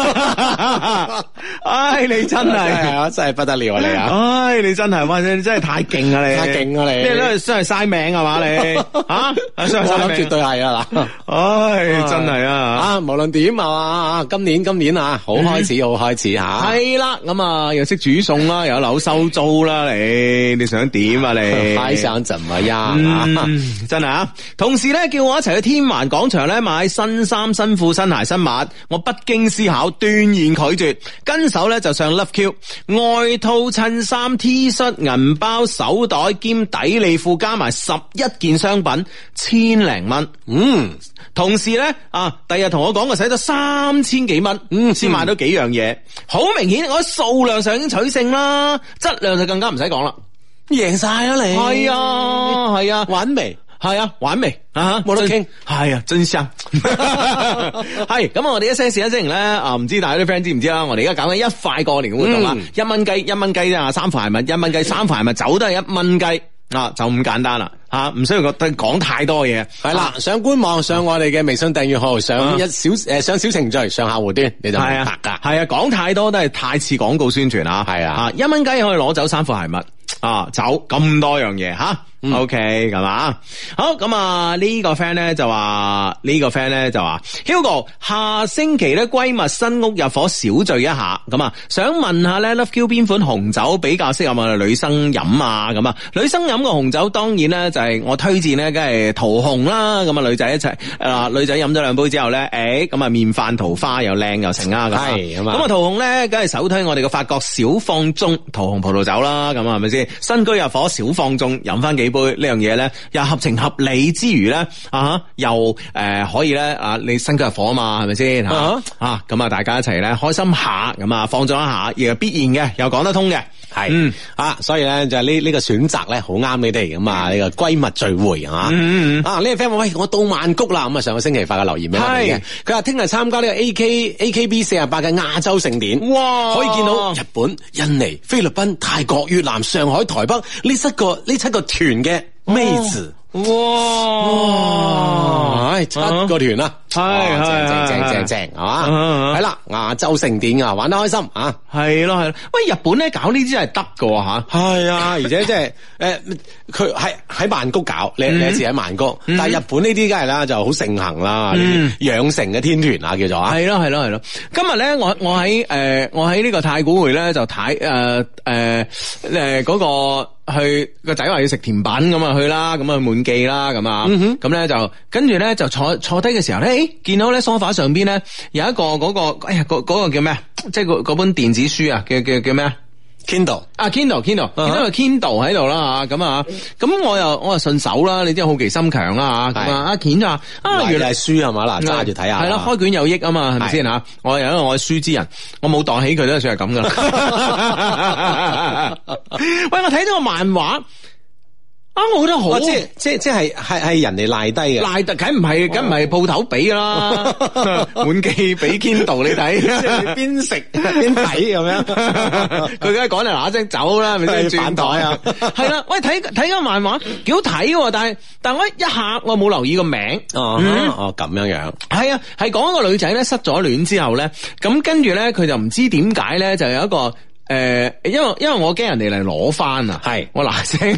你真係真係不得了啊你啊， 你真係哇，你真係太勁啊你， 太勁啊你， 你都係嘥命係嘛你， 我諗絕對係啊嗱， 真係啊， 無論點啊，今年啊，好開始吓， 係啦，咁啊又識煮餸啦，又有樓收租啦，你想點啊你？ 還想怎麼樣真係啊！同時咧叫我一齊去天環廣場咧買新衫、新褲、新鞋、新襪，我不經思考斷然拒絕，跟手咧就上 Love Q， 外套、襯衫、T 恤、銀包、手袋兼底利褲加埋11件商品，1000零蚊。同時咧第日同我講我使咗3000幾蚊，先買到幾樣嘢，好明顯我喺數量上已經取勝啦，質量就更加唔使講啦， 贏晒啦你。 係啊， 玩未？ 係啊，玩未啊？ 冇得傾。 係啊，真香。係咁我哋一些事一些情咧唔知大家啲 friend 知唔知啦？我哋而家搞緊一塊過年嘅活動啊，1蚊雞1蚊雞啫，3塊係1蚊雞3塊係咪走都係1蚊雞啊？就咁簡單啦。唔需要講太多嘢， 係啦，上官網上我哋嘅微信訂閱號，上上小程序，上客戶端，你就明白噶。 係啊，講太多都係太似廣告宣傳啊。係啊，1蚊雞可以攞走3副鞋襪走咁多樣嘢吓。OK 咁嘛？好咁呢個 friend 咧就話Hugo 下星期咧閨蜜新屋入伙小聚一下，咁想問下咧 Love Q 邊款紅酒比較適合我哋女生飲啊？咁女生飲嘅紅酒當然咧就係我推薦咧，梗係桃紅啦。咁女仔一齊女仔飲咗2杯之後咧，咁面泛桃花又靚又成啊。 係咁桃紅咧，梗係首推我哋嘅法國小放縱桃紅葡萄酒啦。咁係咪先？新居入伙小放縱，飲翻幾杯呢樣嘢咧，又合情合理之餘咧，又可以咧你新居入伙啊嘛，係咪先咁大家一齊咧開心下，咁放縱一下，亦係必然嘅，又講得通嘅，係所以咧就係呢個選擇咧好啱你哋咁呢個閨蜜聚會呢個 friend 話喂，我到曼谷啦，咁上個星期發個留言俾我哋嘅，佢話聽日參加呢個 AKB 48嘅亞洲盛典，哇，可以見到日本、印尼、菲律賓、泰國、越南、上海、台北呢7個團嘅妹子，哇，7個團啦，正係嘛，係啦，亞洲盛典玩得開心啊， 係咯，喂，日本咧搞呢啲係得㗎吓， 係啊，而且即係佢係喺曼谷搞，你一次喺曼谷，但係日本呢啲梗係啦就好盛行啦，養成嘅天團啊叫做啊， 係咯，今日咧我喺呢個太古匯咧就睇嗰個。去個仔話要食甜品咁去啦，咁滿記啦，咁咧就跟住咧就坐低嘅時候咧，見到咧梳化上邊咧有一個嗰個叫咩？即係嗰本電子書啊，叫咩 ？Kindle Kindle 見到個 Kindle 喺度啦咁我又順手啦，你知好奇心強啦咁阿健就話原來係書係嘛嗱，揸住睇下， 係咯，開卷有益啊嘛，係咪先吓？我係因為我係書之人，我冇當起佢都算係咁噶啦。喂，我睇到個漫畫。我覺得好， 即係人哋賴低嘅， 賴得梗唔係鋪頭俾噶啦，滿記俾 Kindle 你睇， 邊食邊睇咁樣， 佢梗係講嚟嗱聲走啦，係咪先？轉台啊，係啦，喂，睇個漫畫幾好睇，但我一下我冇留意個名， 咁樣， 係啊，係講一個女仔咧失咗戀之後咧，咁跟住咧佢就唔知點解咧就有一個。因為我驚人哋嚟攞翻啊，係我嗱聲，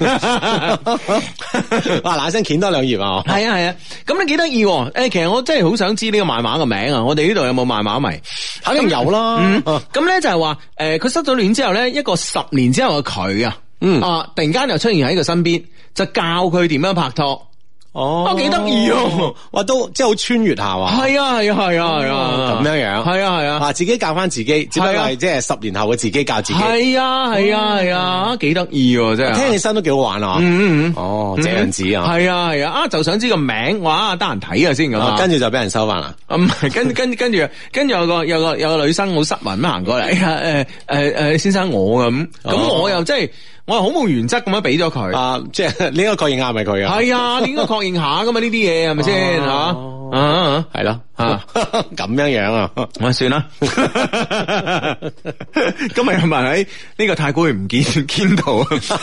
嗱聲掀多2頁啊， 係啊，咁你幾得意？其實我真係好想知呢個漫畫嘅名啊，我哋呢度有冇漫畫迷？ 肯定有啦。 咁咧就係話，佢失咗戀之後咧，一個10年之後嘅佢啊，突然間又出現喺佢身邊，就教佢點樣拍拖。 哦， 幾得意喎！ 哇，都即係好穿越下喎。 係啊係啊係啊係啊， 咁樣樣。 係啊係啊， 啊，自己教翻自己，只不過係即係10年後嘅自己教自己。 係啊係啊係啊，幾得意喎真係。 聽起身都幾好玩啊！哦，這樣子啊。 係啊係啊，就想知個名，哇，得閒睇下先咁啊。 跟住就俾人收翻啦。 唔係，跟住有個女生好失文咁行過嚟，哎呀先生我咁我又即係。我係好冇原則咁樣俾咗佢啊，即係你應該確認下係咪佢啊？ 係啊，你應該確認下噶嘛呢啲嘢係咪先吓？ 係咯咁樣樣啊， 我算啦。今日有冇人喺呢個太古園唔見到？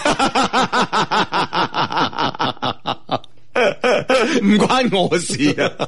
唔關我事啊！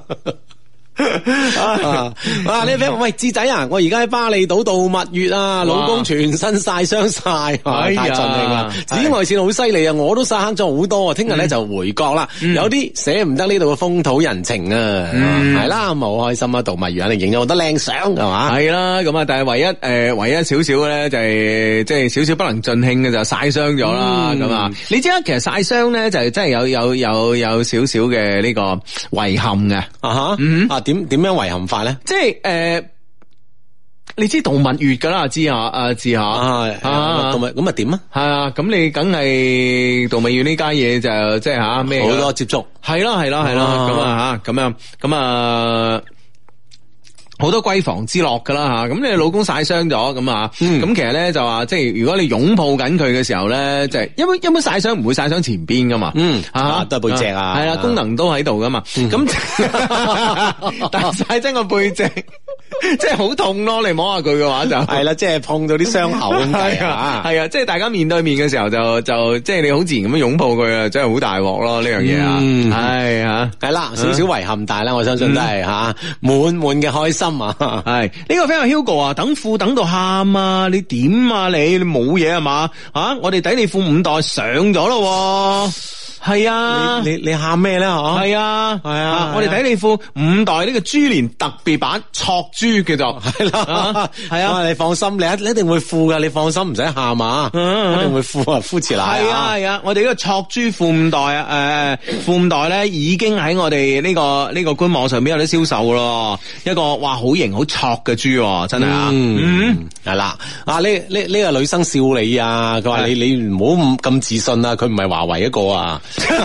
呢個 friend 喂智仔啊，我而家喺巴厘島度蜜月啊，老公全身曬傷晒，太盡興啦！紫外線好犀利啊，我都曬黑咗好多啊！聽日咧就回國啦，有啲捨唔得呢度嘅風土人情啊，係啦，咁好開心啊！度蜜月肯定影咗好多靚相，係嘛？係啦，咁啊，但係唯一少少咧就係即係少少不能盡興嘅就曬傷咗啦，咁啊，你知啦，其實曬傷咧就係真係有少少嘅呢個遺憾嘅點樣遺憾法咧？ 即係你知度蜜月噶啦，知下度蜜咁啊點啊？ 係啊，咁你梗係度蜜月呢家嘢就即係吓咩？ 好多接觸， 係咯，咁啊好多閨房之樂噶啦吓，咁你老公曬傷咗咁啊，咁其實咧就話即係如果你擁抱緊佢嘅時候咧，即係一般曬傷唔會曬傷前邊噶嘛， 都係背脊啊， 係啦，功能都喺度噶嘛，咁但係曬親個背脊，即係好痛咯，你摸下佢嘅話就係啦，即係碰到啲傷口咁計啊， 係啊，即係大家面對面嘅時候就即係你好自然咁樣擁抱佢啊，真係好大鑊咯呢樣嘢啊，係啊， 係啦，少少遺憾，但係咧我相信都係吓滿嘅開心。 係呢個 friend Hugo 啊，等褲等到喊啊，你點啊你冇嘢係嘛？我哋底你褲5代上咗咯。係啊， 你喊咩咧？嗬， 係啊，我哋底你褲5代呢個豬年特別版戳豬叫做係啦，係啊，你放心，你一定會褲噶，你放心唔使喊啊，一定會褲啊，膚遲奶係啊，我哋呢個戳豬褲5代啊，褲5代咧已經喺我哋呢個官網上邊有得銷售咯，一個哇好型好戳嘅豬，真係啊， 係啦，呢個女生笑你啊，佢話你唔好咁自信啊，佢唔係華為一個啊。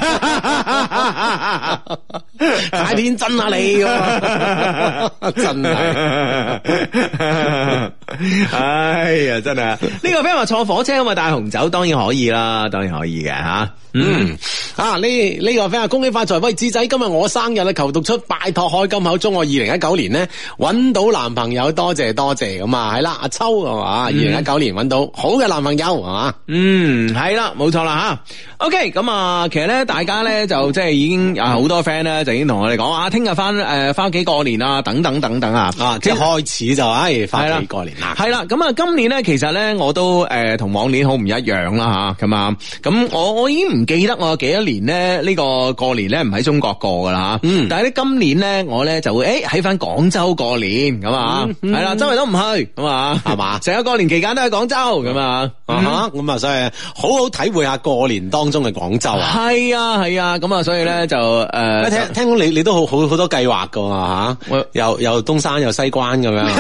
太天真啊你，真係， 哎呀真係，呢個 friend 話坐火車咁啊帶紅酒，當然可以啦，當然可以嘅吓。 呢個 friend 恭喜發財，喂智仔今日我生日啦，求讀出拜託開金口，祝我2019年咧搵到男朋友，多謝咁啊，係啦，阿秋係嘛，2019年搵到好嘅男朋友係嘛， 係啦，冇錯啦吓。OK， 咁啊，其實咧大家咧就即係已經有好多 friend 咧就已經同我哋講啊，聽日翻屋企過年啊，等等啊， 即係開始就翻屋企過年啦。 係啦，咁啊今年咧其實咧我都同往年好唔一樣啦吓，咁啊，咁我已經唔記得我幾多年咧呢個過年咧唔喺中國過噶啦吓，但係咧今年咧我咧就會喺翻廣州過年咁啊，係啦，周圍都唔去咁啊，係嘛，成個過年期間都喺廣州咁啊， 咁啊，所以好好體會下過年當中嘅廣州啊， 係啊，咁啊，所以咧就聽講你都好多計劃噶吓，又東山又西關咁樣，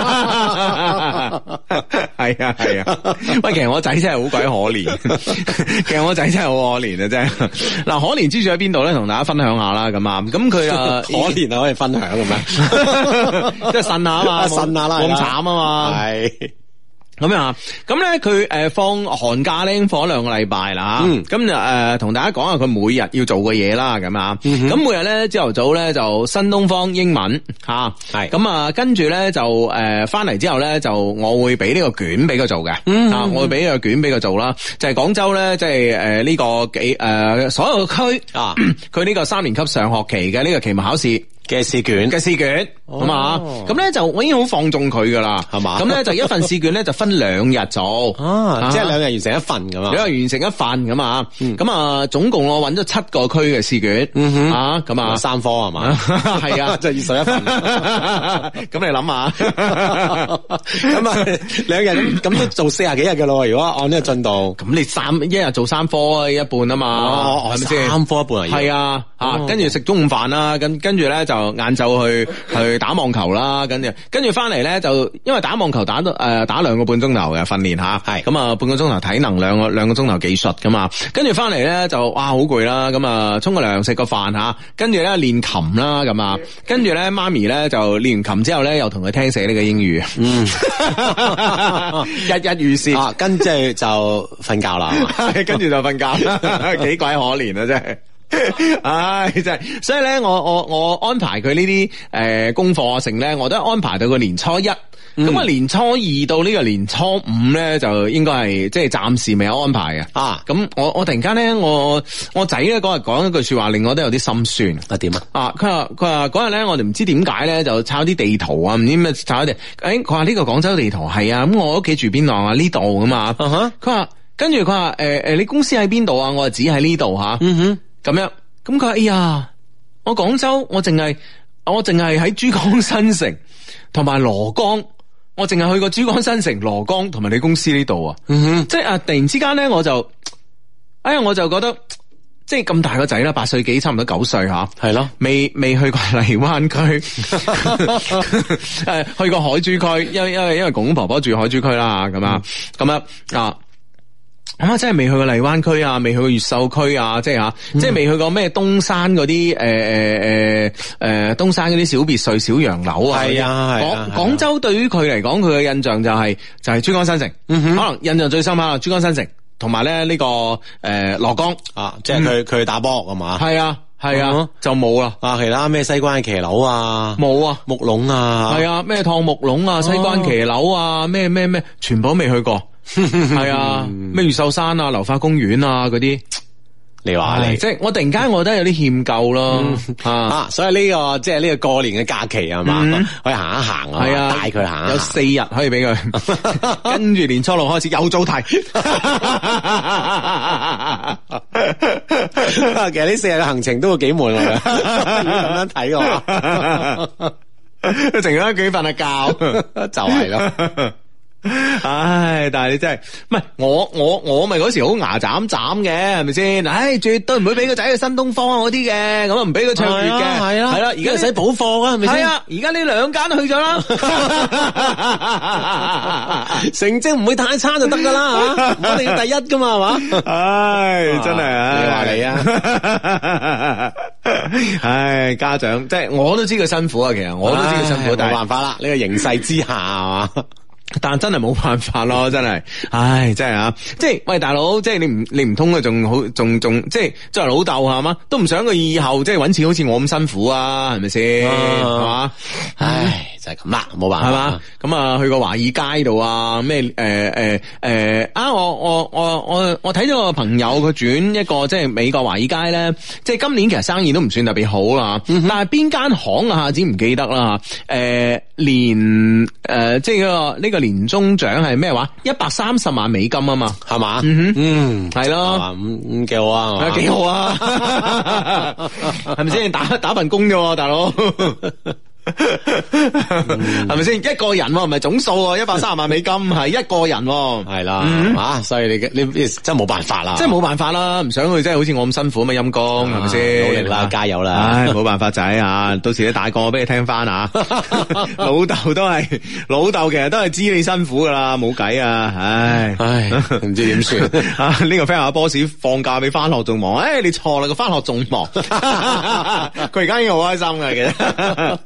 係啊，喂，其實我仔真係好鬼可憐，其實我仔真係好可憐啊，真係。嗱，可憐之處喺邊度咧？同大家分享下啦，咁啊，咁佢啊可憐啊，可以分享嘅咩？ 即係呻下啊嘛， 呻下啦， 咁慘啊嘛，係。咁啊，咁咧佢放寒假咧，放咗2個禮拜啦吓，咁就同大家講下佢每日要做嘅嘢啦，咁啊，咁每日咧朝頭早咧就新東方英文吓，係，咁啊跟住咧就翻嚟之後咧就我會俾呢個卷俾佢做嘅，我會俾呢個卷俾佢做啦，就係廣州咧即係呢個所有區啊，佢呢個3年級上學期嘅呢個期末考試。 嘅試卷咁啊，咁咧就我已經好放縱佢噶啦， 係嘛？ 咁咧就一份試卷咧就分2日做， 即係2日完成一份咁啊， 2日完成一份咁啊，咁啊總共我揾咗7個區嘅試卷，啊咁啊 3科係嘛？ 係啊， 就21份， 咁你諗下， 咁啊2日咁都做40幾日嘅咯，如果按呢個進度， 咁你一日做3科一半啊嘛，係咪先 ？3科一半啊？ 係啊，跟住食中午飯啦，跟住咧就晏晝去打網球啦，跟住翻嚟咧就因為打網球打2個半鐘頭嘅訓練吓，係咁啊半個鐘頭體能，兩個鐘頭技術噶嘛，跟住翻嚟咧就哇好攰啦，咁啊沖個涼食個飯吓，跟住咧練琴啦咁啊，跟住咧媽咪咧就練完琴之後咧又同佢聽寫呢個英語，日日如是， 跟住就瞓覺啦， 跟住就瞓覺，幾鬼可憐啊真係。唉，真係，所以咧，我安排佢呢啲功課啊，成咧，我都安排到個年初一，咁啊年初二到呢個年初五咧，就應該係即係暫時未有安排嘅啊。咁我突然間咧，我仔咧嗰日講一句說話，令我都有啲心酸。 啊點啊？ 佢話嗰日咧，我哋唔知點解咧，就抄啲地圖啊，唔知咩抄啲，佢話呢個廣州地圖係啊，咁我屋企住邊度啊？呢度噶嘛。佢話跟住佢話你公司喺邊度啊？我就指喺呢度吓。咁樣，咁佢話哎呀，我廣州我淨係喺珠江新城同埋蘿崗，我淨係去過珠江新城、蘿崗同埋你公司呢度啊，即係突然之間咧我就覺得即係咁大個仔啦，8歲幾，差唔多9歲吓，係咯，未去過荔灣區，去過海珠區，因為公公婆婆住海珠區啦，咁啊。咁啊，真係未去過荔灣區啊，未去過越秀區啊，即係吓，即係未去過咩東山嗰啲東山嗰啲小別墅、小洋樓啊。係啊，廣州對於佢嚟講，佢嘅印象就係珠江新城，可能印象最深刻珠江新城，同埋咧呢個蘿崗啊，即係佢去打波係嘛？係啊，就冇啦。啊，其他咩西關騎樓啊，冇啊，木籠啊，係啊，咩燙木籠啊，西關騎樓啊，咩，全部都未去過。係啊，咩越秀山啊、流花公園啊嗰啲，你話你即係我突然間我覺得有啲欠夠咯，所以呢個即係呢個過年嘅假期係嘛，可以行一行啊，係啊，帶佢行，有4日可以俾佢，跟住年初6開始又做題，其實呢4日嘅行程都會幾悶嘅，咁樣睇我，淨係喺屋企瞓下覺，就係咯。唉，但係你真係唔係我咪嗰時好牙斬嘅，係咪先？唉，絕對唔會俾個仔去新東方嗰啲嘅，咁啊唔俾佢唱粵嘅，係啦，而家使補課啊，係咪先？係啊，而家呢2間都去咗啦，成績唔會太差就得噶啦，我哋要第一噶嘛，係嘛？唉，真係，你話你啊？唉，家長即係我都知佢辛苦啊，其實我都知佢辛苦，但係冇辦法啦，呢個形勢之下係嘛。但真係冇辦法咯，真係，唉，真係啊！即係喂，大佬，即係你唔通佢仲好，仲即係作為老豆係嘛，都唔想佢以後即係搵錢好似我咁辛苦啊，係咪先？係嘛？唉，就係咁啦，冇辦法，係嘛？咁啊，去過華爾街度啊，咩我睇咗個朋友佢轉一個即係美國華爾街咧，即係今年其實生意都唔算特別好啦，但係邊間行啊，下子唔記得啦，即係呢個年終獎係咩話？130萬美金啊嘛，係嘛？係咯，咁幾好啊，幾好啊，係咪先？打份工啫，大佬。係咪先？一個人唔係總數，130萬美金係一個人，係啦，所以你真係冇辦法啦，真係冇辦法啦，唔想佢真係好似我咁辛苦咁陰功，係咪先？努力啦，加油啦！唉，冇辦法仔啊，到時你大個俾你聽翻啊，老豆其實都係知你辛苦噶啦，冇計啊，唉，唔知點算啊？呢個 friend 話 boss 放假比翻學仲忙，你錯啦，個翻學仲忙，佢而家已經好開心噶，其實。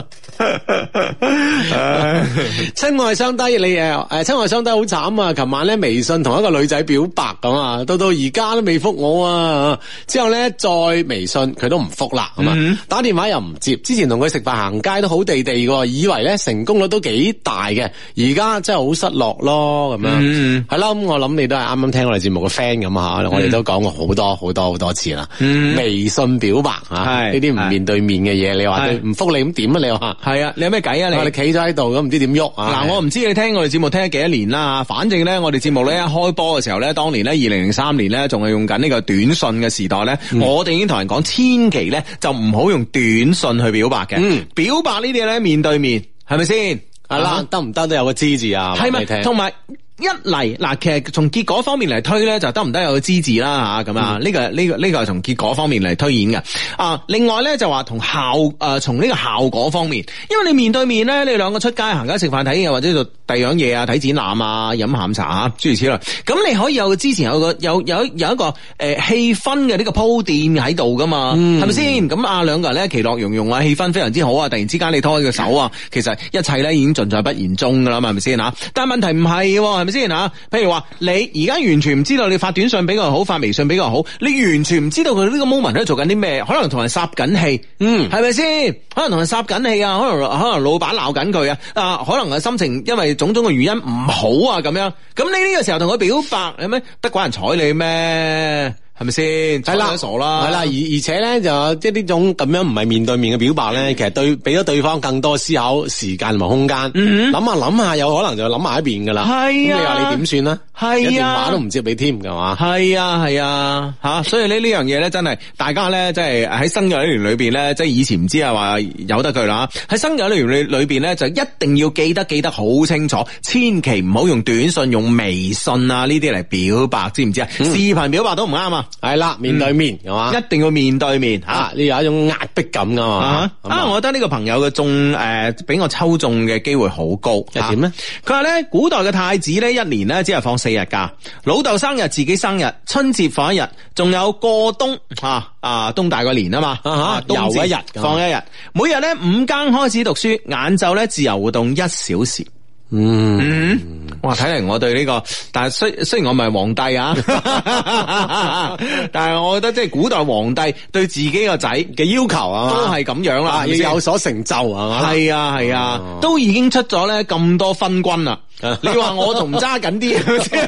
親愛相低，你親愛相低好慘啊！琴晚咧微信同一個女仔表白咁啊，到而家都未覆我啊！之後咧再微信佢都唔覆啦，咁啊打電話又唔接。之前同佢食飯行街都好地地嘅，以為咧成功率都幾大嘅，而家真係好失落咯，咁樣係啦。咁我諗你都係啱啱聽我哋節目嘅 friend 咁吓，我哋都講過好多次啦。微信表白啊，呢啲唔面對面嘅嘢，你話佢唔覆你咁點啊？你話係啊？你有咩計啊？你企咗喺度咁唔知點喐啊？ 嗱，我唔知你聽我哋節目聽咗幾多年啦，反正咧我哋節目咧一開波嘅時候咧，當年咧2003年咧仲係用緊呢個短信嘅時代咧，我哋已經同人講千祈咧就唔好用短信去表白嘅，表白呢啲嘢咧面對面係咪先？ 係啦，得唔得都有個知字啊？ 係咪？同埋一嚟嗱，其實從結果方面嚟推咧，就得唔得有個知字啦吓，咁啊，呢個係從結果方面嚟推演嘅啊。另外咧就話從呢個效果方面，因為你面對面咧，你兩個出街行街食飯睇嘢，或者做第二樣嘢啊，睇展覽啊，飲下午茶啊，諸如此類。咁你可以有之前有一個氣氛嘅呢個鋪墊喺度噶嘛，係咪先？咁啊兩個人咧其樂融融啊，氣氛非常之好啊，突然之間你拖起個手啊，其實一切咧已經盡在不言中噶啦嘛，係咪先吓？但係問題唔係喎，係咪先吓？譬如話你而家完全唔知道你發短信比較好，發微信比較好，你完全唔知道佢呢個 moment 喺度做緊啲咩，可能同人霎緊氣，係咪先？可能同人霎緊氣啊，可能老闆鬧緊佢啊，可能係心情因為種種嘅原因唔好啊，咁樣，咁你呢個時候同佢表白，有咩得鬼人睬你咩？係咪先？係啦，傻啦， 係啦，而且咧就即係呢種咁樣唔係面對面嘅表白咧，其實俾咗對方更多思考時間同埋空間，諗下有可能就諗埋一邊噶啦。係啊，咁你話你點算咧？係啊，電話都唔接你添噶嘛？係啊，吓，所以呢樣嘢咧真係大家咧，即係喺生日一年裏邊咧，即係以前唔知啊話由得佢啦。喺生日一年裏邊咧，就一定要記得好清楚，千祈唔好用短信、用微信啊呢啲嚟表白，知唔知啊？視頻表白都唔啱啊！係啦，面對面係嘛，一定要面對面吓，呢有一種壓迫感噶嘛。我覺得呢個朋友嘅俾我抽中嘅機會好高。係點咧？佢話咧，古代嘅太子咧，一年咧只係放4日假，老豆生日、自己生日、春節放1日，仲有過冬冬大過年啊嘛，又一日放1日，每日咧5更開始讀書，晏晝咧自由活動1小時。哇！睇嚟我對呢個，但係雖然我唔係皇帝啊，但係我覺得即係古代皇帝對自己個仔嘅要求啊，都係咁樣啦，要有所成就係嘛？係啊，都已經出咗咧咁多分軍啦。你話我仲揸緊啲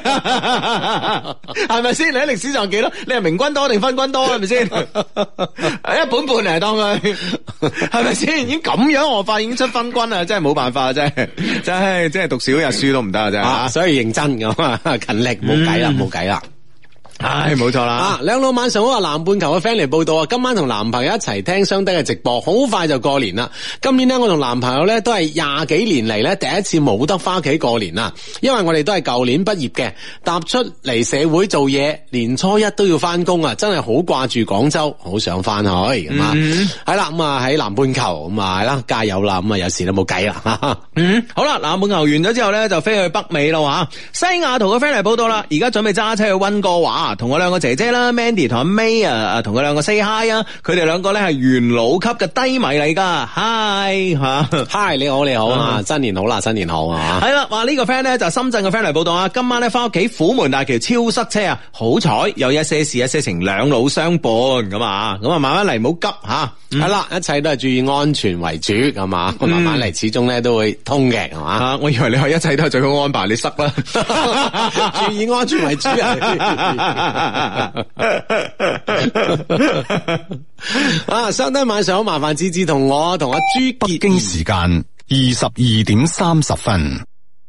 係咪先？你喺歷史上幾多？你係明軍多定分軍多係咪先？一本半嚟當佢係咪先？已經咁樣，我發現已經出分軍啦，真係冇辦法，真係讀少日書都唔得啊！真係，所以認真咁啊，勤力冇計啦。唉，冇錯啦！兩老晚上好啊，南半球嘅 friend 嚟報道啊，今晚同男朋友一齊聽雙低嘅直播，好快就過年啦。今年呢，我同男朋友呢都係20幾年嚟呢第一次冇得翻屋企過年啦，因為我哋都係舊年畢業嘅，踏出嚟社會做嘢，年初一都要翻工啊，真係好掛住廣州，好想翻去咁啊！係啦，咁啊喺南半球咁啊係啦，加油啦！咁啊有時都冇計啦。好啦，南半球完咗之後呢，就飛去北美咯吓。西雅圖嘅 friend 嚟報道啦，而家準備揸車去溫哥華。同我兩個姐姐啦 ，Mandy 同阿 May 啊，同佢兩個 say hi 啊，佢哋兩個咧係元老級嘅低迷嚟噶 ，hi 吓 ，hi 你好啊，新年好啦，新年好啊，係啦，話呢個 friend 咧就深圳嘅 friend 嚟報道啊，今晚咧翻屋企虎門大橋超塞車啊，好彩有一些事一些情兩老相伴咁啊，慢慢嚟，唔好急吓，係啦，一切都係注意安全為主，係嘛，慢慢嚟，始終咧都會通嘅，係嘛，我以為你話一切都係最好安排，你塞啦，注意安全為主相低晚上好，麻煩芝芝同我同阿朱北京時間22點30分。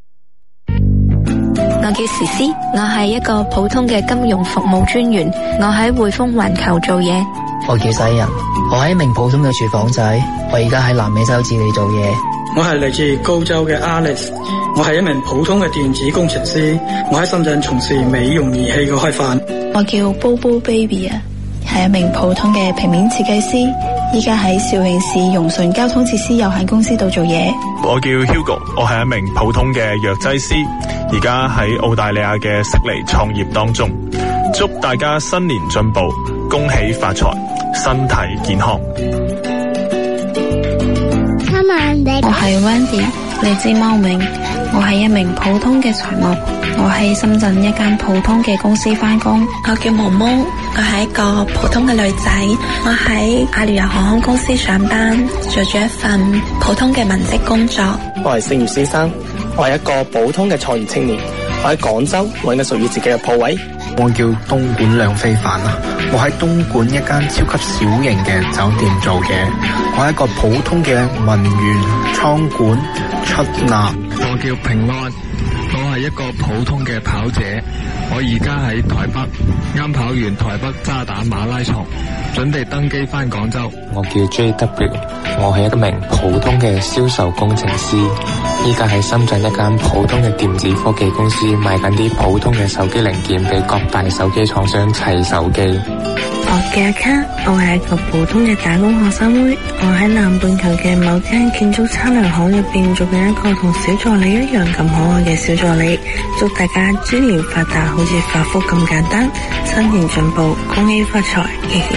我叫時思，我係一個普通嘅金融服務專員，我喺匯豐環球做嘢。 我叫西人，我係一名普通嘅廚房仔，我而家喺南美洲智利做嘢。 我係嚟自高州嘅 Alex， 我係一名普通嘅電子工程師，我喺深圳從事美容儀器嘅開發。 我叫 Bobo Baby 啊，係一名普通嘅平面設計師，依家喺肇慶市融順交通設施有限公司度做嘢。 我叫 Hugo， 我係一名普通嘅藥劑師，而家喺澳大利亞嘅悉尼創業當中。祝大家新年進步，恭喜發財，身體健康。 我係 Wendy，嚟自茂名。我係一名普通嘅財務，我喺深圳一間普通嘅公司返工。 我叫毛毛，我係一個普通嘅女仔，我喺阿聯酋航空公司上班，做住一份普通嘅文職工作。 我係盛業先生，我係一個普通嘅創業青年，我喺廣州揾緊屬於自己嘅鋪位。 我叫東莞梁非凡啊，我喺東莞一間超級小型嘅酒店做嘢，我係一個普通嘅文員、倉管、出納。 我叫平安，我係一個普通嘅跑者，我而家喺台北，啱跑完台北渣打馬拉松，準備登機返廣州。 我叫 JW， 我係一名普通嘅銷售工程師，依家喺深圳一間普通嘅電子科技公司賣緊啲普通嘅手機零件俾各大手機廠商砌手機。 我叫阿卡，我係一個普通嘅打工學生妹，我喺南半球嘅某間建築測量行入邊做緊一個同小助理一樣咁可愛嘅小助理。祝大家豬年發達，好似發福咁簡單，新年進步，恭喜發財，嘻嘻。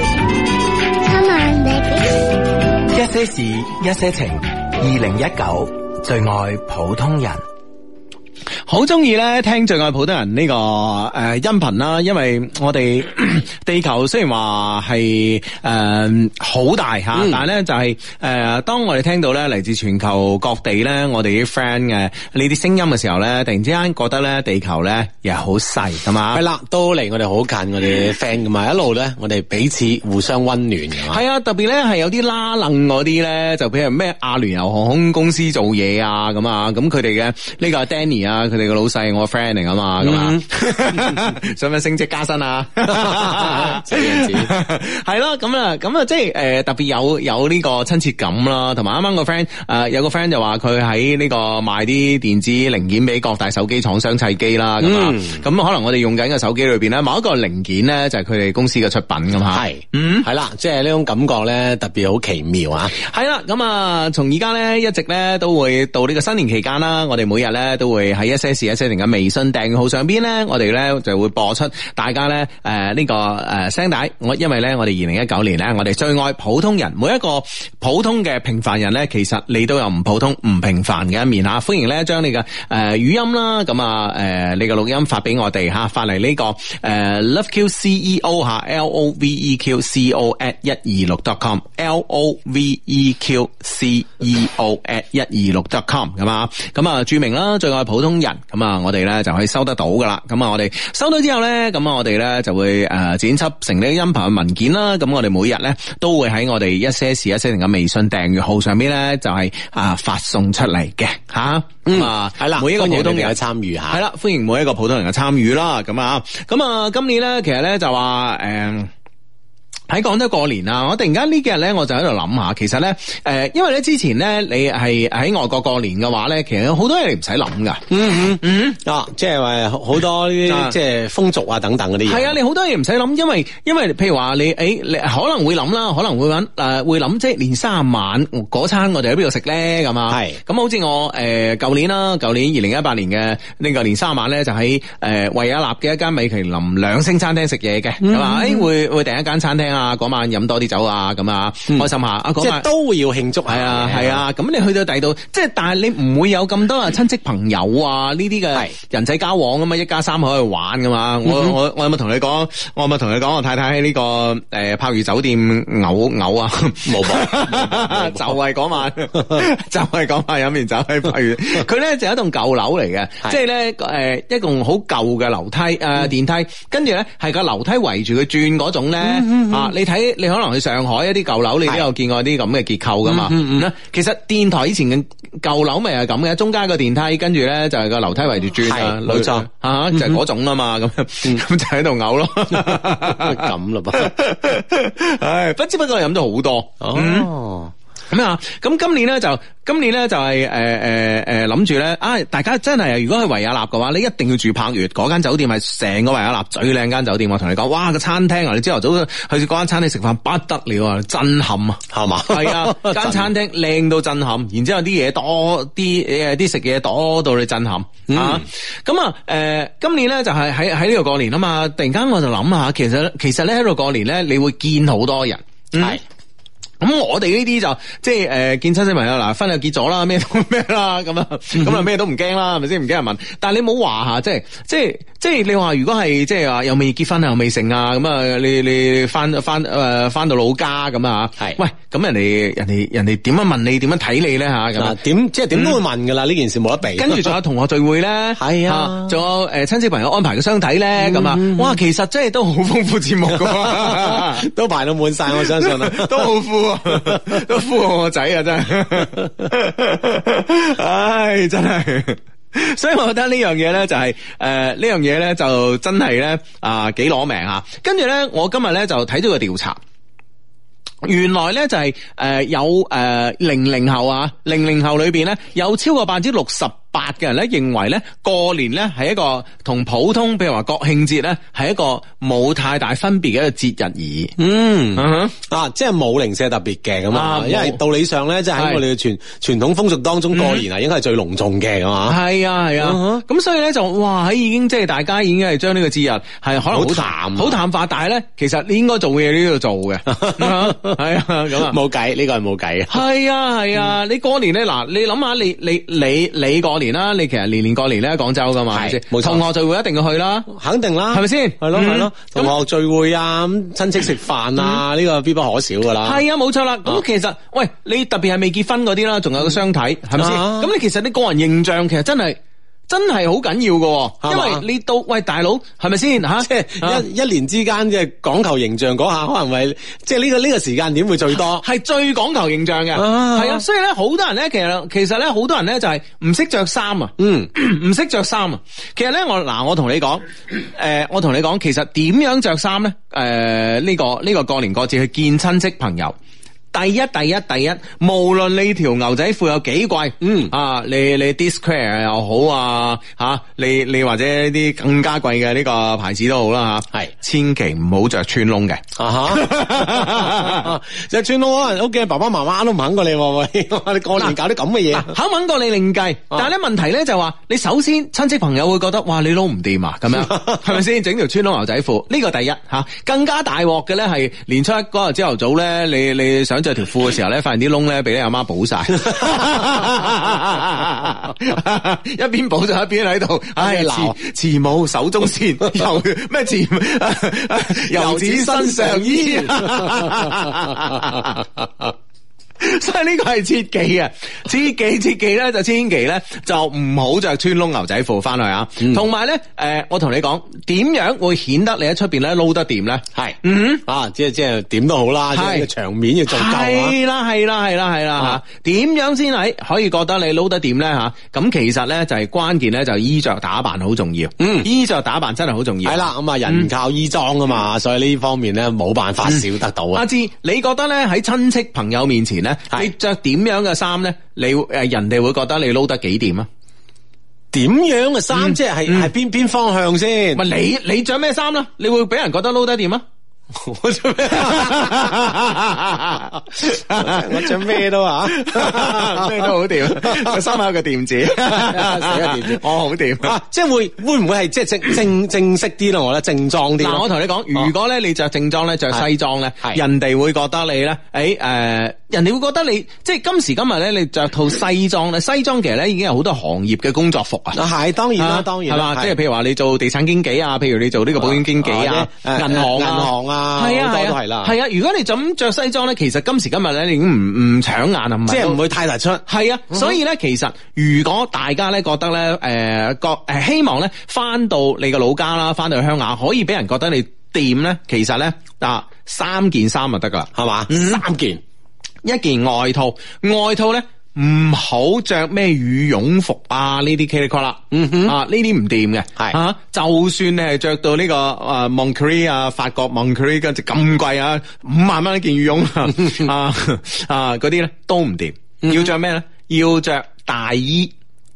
一些事，一些情，2019最愛普通人。 好中意咧聽最愛普通人呢個音頻啦，因為我哋地球雖然話係好大吓，但係咧就係當我哋聽到咧嚟自全球各地咧我哋啲 friend 嘅呢啲聲音嘅時候咧，突然之間覺得咧地球咧又係好細，係嘛？ 係啦，都離我哋好近，我哋 friend 噶嘛，一路咧我哋彼此互相溫暖嘅嘛。 係啊，特別咧係有啲拉楞嗰啲咧，就譬如咩阿聯酋航空公司做嘢啊咁啊，咁佢哋嘅呢個 Danny 啊，佢哋個老細我 friend 嚟噶嘛，咁啊，想唔想升職加薪啊？ 這樣子係咯，咁啊，即係特別有呢個親切感啦，同埋啱啱個 friend 有個 friend 就話佢喺呢個賣啲電子零件俾各大手機廠商砌機啦，咁啊，咁可能我哋用緊嘅手機裏邊咧，某一個零件咧就係佢哋公司嘅出品咁吓， 係，係啦，即係呢種感覺咧特別好奇妙啊！ 係啦，咁啊，從而家咧一直咧都會到呢個新年期間啦，我哋每日咧都會喺一些事一些情嘅微信訂閱號上邊咧，我哋咧就會播出大家咧呢個聲帶。因為咧我哋2019年咧，我哋最愛普通人，每一個普通嘅平凡人咧，其實你都有唔普通、唔平凡嘅一面吓。歡迎咧將你嘅語音啦，咁啊你嘅錄音發俾我哋吓，發嚟呢個loveqceo 吓 loveqceo@126.com loveqceo@126.com 咁啊，咁啊注明啦最愛普通人，咁啊我哋咧就可以收得到噶啦。咁啊我哋收到之後咧，咁啊我哋咧就會剪輯成呢個音頻嘅文件啦。咁我哋每日咧都會喺我哋一些事一些情嘅微信訂閱號上邊咧就係發送出嚟嘅吓。係啦，每一個普通人嘅參與吓，係啦，歡迎每一個普通人嘅參與啦。咁啊今年咧其實咧就話喺廣州過年啊！我突然間呢幾日咧，我就喺度諗下，其實咧，因為咧之前咧，你係喺外國過年嘅話咧，其實有好多嘢你唔使諗噶。 即係話好多啲即係風俗啊等等嗰啲嘢。係啊，你好多嘢唔使諗，因為譬如話你可能會諗啦，可能會會諗即係年卅晚嗰餐我哋喺邊度食咧咁啊。係咁好似我舊年2018年嘅呢個年卅晚咧，就喺維也納嘅一間米其林2星餐廳食嘢嘅，係嘛？會訂一間餐廳。嗰晚飲多啲酒啊，咁啊開心下， 即係都會要慶祝。 係啊，咁你去到第二度，即係但係你唔會有咁多親戚朋友啊呢啲嘅人際交往噶嘛，一家三口去玩噶嘛。我有冇同你講？我太太喺呢個柏如酒店嘔啊，冇就係嗰晚，飲完酒喺柏如，佢咧就係一棟舊樓嚟嘅，即係咧一棟好舊嘅樓梯電梯，跟住咧係個樓梯圍住佢轉嗰種咧你睇，你可能去上海一啲舊樓，你都有見過啲咁嘅結構噶嘛？其實電台以前嘅舊樓咪係咁嘅，中間個電梯，跟住咧就係個樓梯圍住轉啊，冇錯就係嗰種啊嘛，咁就喺度嘔咯， 咁咯噃， 唉，不知不覺飲咗好多哦。咁今年咧就係諗住咧，大家真係如果去維也納嘅話，你一定要住柏悦嗰間酒店，係成個維也納最靚間酒店。我同你講，哇個餐廳啊，你朝頭早去嗰間餐廳食飯不得了啊，震撼啊，係嘛？係啊，間餐廳靚到震撼，然之後啲嘢多，啲食嘢多到你震撼啊！咁今年咧就係喺呢度過年啊嘛，突然間我就諗下，其實咧喺度過年咧，你會見好多人，係。 咁我哋呢啲就即係見親戚朋友嗱，婚又結咗啦，咩都咩啦，咁啊咩都唔驚啦，係咪先？唔驚人問。但係你冇話吓，即係你話如果係即係話又未結婚啊，又未成啊，咁啊你翻到老家咁啊，係喂，咁人哋點樣問你，點樣睇你咧吓？咁點都會問噶啦，呢件事冇得避。 跟住仲有同學聚會咧，係啊，仲有親戚朋友安排嘅相睇咧，咁啊，哇，其實真係都好豐富節目噶， 都排到滿晒，我相信啊， 都好富。都呼我仔啊，真係，唉，真係，所以我覺得呢樣嘢咧就係呢樣嘢咧就真係咧幾攞命啊！跟住咧，我今日咧就睇咗個調查。原來咧就係有00後啊，00後裏邊咧有超過68%嘅人咧認為咧過年咧係一個同普通譬如話國慶節咧係一個冇太大分別嘅一個節日而已。 即係冇零舍特別嘅咁啊，因為道理上咧即係喺我哋嘅傳統風俗當中過年啊應該係最隆重嘅咁啊。係啊，咁所以咧就哇喺已經即係大家已經係將呢個節日係可能好淡化，但係咧其實你應該做嘅嘢呢度做嘅。係啊，咁啊冇計，呢個係冇計嘅。係啊，你過年咧嗱，你諗下你過年啦，你其實年過年咧喺廣州噶嘛，係咪先？同學聚會一定要去啦，肯定啦，係咪先？係咯，同學聚會啊，親戚食飯啊，呢個必不可少噶啦。係啊，冇錯啦。咁其實喂，你特別係未結婚嗰啲啦，仲有個相睇，係咪先？咁你其實你個人形象其實真係好緊要㗎，因為你到喂大佬係咪先吓？即係一年之間即係講求形象嗰下，可能係即係呢個時間點會最多，係最講求形象嘅。係啊，所以咧好多人咧，其實咧好多人咧就係唔識着衫啊，唔識着衫啊。其實咧我同你講，其實點樣着衫咧？呢個過年過節去見親戚朋友。第一，無論你條牛仔褲有幾貴，你 Discreet 又好啊，吓你或者啲更加貴嘅呢個牌子都好啦吓，係千祈唔好着穿窿嘅，着穿窿可能屋企爸爸媽媽都唔肯過你，喂，你過年搞啲咁嘅嘢，肯唔肯過你另計，但係咧問題咧就話，你首先親戚朋友會覺得，哇，你撈唔掂啊，咁樣係咪先？整條穿窿牛仔褲，呢個第一吓，更加大鑊嘅咧係年初一嗰日朝頭早咧，你想着條褲嘅時候咧，發現啲窿咧俾你阿媽補晒，一邊補就一邊喺度，唉鬧慈母手中線，又咩遊子身上衣。所以呢個係切忌啊，切忌咧就千祈咧就唔好着穿窿牛仔褲翻去啊。同埋咧，我同你講，點樣會顯得你喺出邊咧撈得掂咧？係，即係點都好啦，即係個場面要做夠啊。係啦吓，點樣先係可以覺得你撈得掂咧吓？咁其實咧就係關鍵咧，就衣着打扮好重要。衣着打扮真係好重要。係啦，咁啊人靠衣裝啊嘛，所以呢方面咧冇辦法少得到啊。阿芝，你覺得咧喺親戚朋友面前咧，你着點樣嘅衫咧？人哋會覺得你撈得幾掂啊？點樣嘅衫即係邊方向先？咪你着咩衫啦？你會俾人覺得撈得掂啊？我着咩？我着咩都啊，咩都好掂。個衫有個掂字，寫個掂字，我好掂。即係會唔會係即係正式啲咯？我覺得正裝啲。嗱，我同你講，如果咧你着正裝咧，着西裝咧，人哋會覺得你咧，人哋會覺得你即係今時今日咧，你着套西裝咧，西裝其實咧已經有好多行業嘅工作服啊。係當然啦，係嘛？即係譬如話你做地產經紀啊，譬如你做呢個保險經紀啊，銀行啊。係啊，都係啦。係啊，如果你就咁着西裝咧，其實今時今日咧，你已經唔搶眼啊，即係唔會太突出。係啊，所以咧，其實如果大家咧覺得咧，希望咧翻到你個老家啦，翻到去鄉下，可以俾人覺得你掂咧，其實咧3件衫就得噶啦，係嘛？3件，一件外套咧。唔好着咩羽絨服啊，呢啲 K 啦，呢啲唔掂嘅，係就算你係着到呢個Moncler 啊，法國 Moncler 咁貴啊，5萬蚊一件羽絨嗰啲咧都唔掂，要着咩咧？要着大衣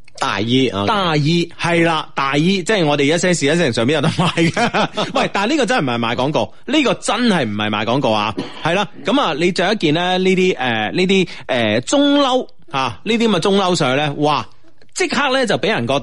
係啦，大衣即係我哋一些事一些情上邊有得賣嘅。喂，但係呢個真係唔係賣廣告，呢個真係唔係賣廣告啊，係啦，咁啊，你着一件咧呢啲中褸。呢啲咁嘅中褸上去咧，哇！即刻咧就俾人覺得咧，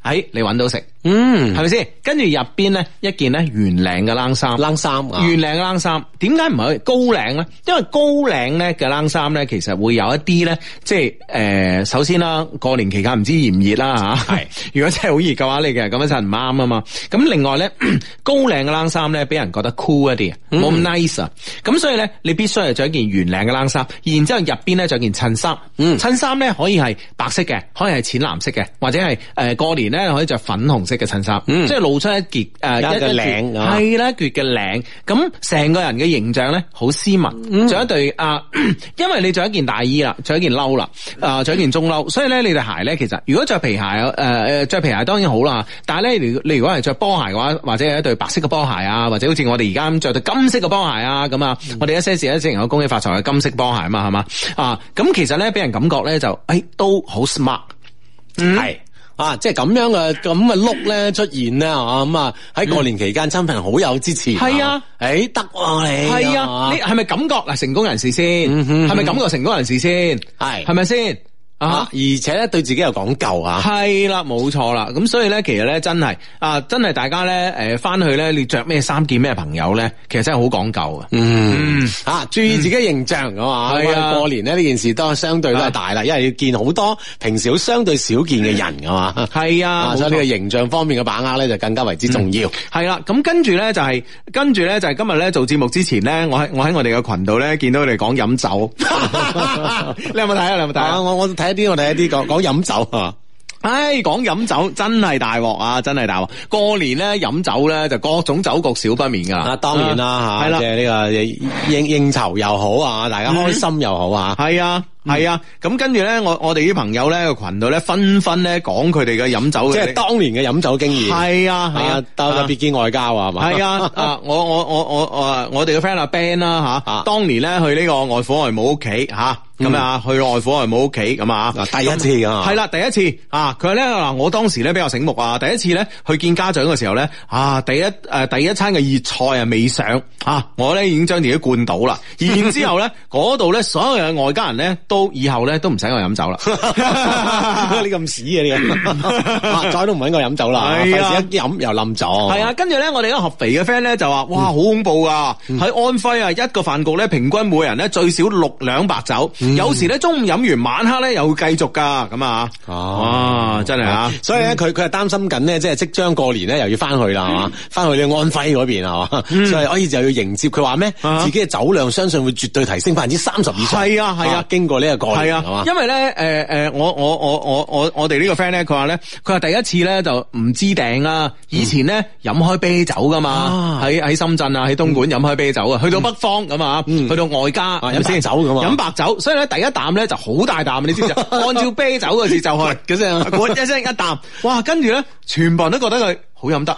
你揾到食。 係咪先？跟住入邊咧一件咧圓領嘅冷衫，圓領嘅冷衫，點解唔係高領咧？因為高領咧嘅冷衫咧，其實會有一啲咧，即係首先啦，過年期間唔知熱唔熱啦吓。係，如果真係好熱嘅話，你其實咁樣就唔啱啊嘛。咁另外咧，高領嘅冷衫咧，俾人覺得 cool 一啲，冇咁 nice 啊。咁所以咧，你必須係着一件圓領嘅冷衫，然之後入邊咧着件襯衫。襯衫咧可以係白色嘅，可以係淺藍色嘅，或者係過年咧可以着粉紅色嘅襯衫，即係露出一截一個領，係啦，一截嘅領，咁成個人嘅形象咧好斯文，着一對因為你着一件大衣啦，着一件褸啦，着一件中褸，所以咧你對鞋咧其實如果着皮鞋着皮鞋當然好啦，但係咧你如果係着波鞋嘅話，或者係一對白色嘅波鞋啊，或者好似我哋而家咁着對金色嘅波鞋啊，咁啊，我哋一些事一些情有恭喜發財嘅金色波鞋啊嘛，係嘛咁其實咧俾人感覺咧就都好 smart， 係。 即係咁樣嘅look 咧出現咧，咁喺過年期間親朋好友之前， 係啊， 得你係啊，你係咪感覺嗱成功人士先？係咪感覺成功人士先？係咪先？而且咧對自己有講究啊，係啦，冇錯啦。咁所以咧，其實咧真係大家咧翻去咧，你着咩衫見咩朋友咧，其實真係好講究啊。 注意自己形象㗎嘛。係啊，過年咧呢件事都相對都係大啦，因為要見好多平時好相對少見嘅人㗎嘛。係啊，所以呢個形象方面嘅把握咧就更加為之重要。 係啦，咁跟住咧就係今日咧做節目之前咧，我喺我哋嘅群度咧見到佢哋講飲酒，你有冇睇啊？你有冇睇啊？ 我睇一啲講飲酒啊！ 講飲酒真係大鑊啊！真係大鑊！過年咧飲酒咧就各種酒局少不免噶啦。 當然啦吓，即係呢個應酬又好啊，大家開心又好啊。 係啊。咁跟住咧，我哋啲朋友咧個群度咧紛紛咧講佢哋嘅飲酒嘅， 即係當年嘅飲酒經驗。係啊，特別見外交啊，係嘛？ 係啊，我哋嘅 friend 阿 Ben 啦吓，當年咧去呢個外父外母屋企吓。咁去外父外母屋企咁啊， 第一次噶係啦，第一次佢話咧嗱，我當時咧比較醒目啊，第一次咧去見家長嘅時候咧第一餐嘅熱菜未上我咧已經將自己灌倒啦，然之後咧嗰度咧所有嘅外家人咧都以後咧都唔使我飲酒啦， 你咁屎嘅你，再都唔搵我飲酒啦，費事一飲又冧咗。 係啊，跟住咧我哋一個合肥嘅 friend 咧就話哇好恐怖噶，喺安徽啊一個飯局咧平均每人咧最少6兩白酒。有時咧中午飲完晚黑咧又會繼續噶咁啊！哇，真係啊！ 所以咧佢係擔心緊咧，即係即將過年咧又要翻去啦，係嘛？翻去呢安徽嗰邊係嘛？所以可以就要迎接佢話咩？自己嘅酒量相信會絕對提升30%以上。 係啊！經過呢個過年係嘛？因為咧我哋呢個 friend 咧佢話咧佢話第一次咧就唔知訂啦，以前咧飲開啤酒噶嘛，喺深圳啊喺東莞飲開啤酒啊，去到北方咁啊，去到外家飲白酒咁啊， 飲白酒，所以咧第一啖咧就好大啖，你知唔知？按照啤酒嘅節奏去，嗰聲，嗰一聲一啖，哇！跟住咧，全部人都覺得佢好飲得。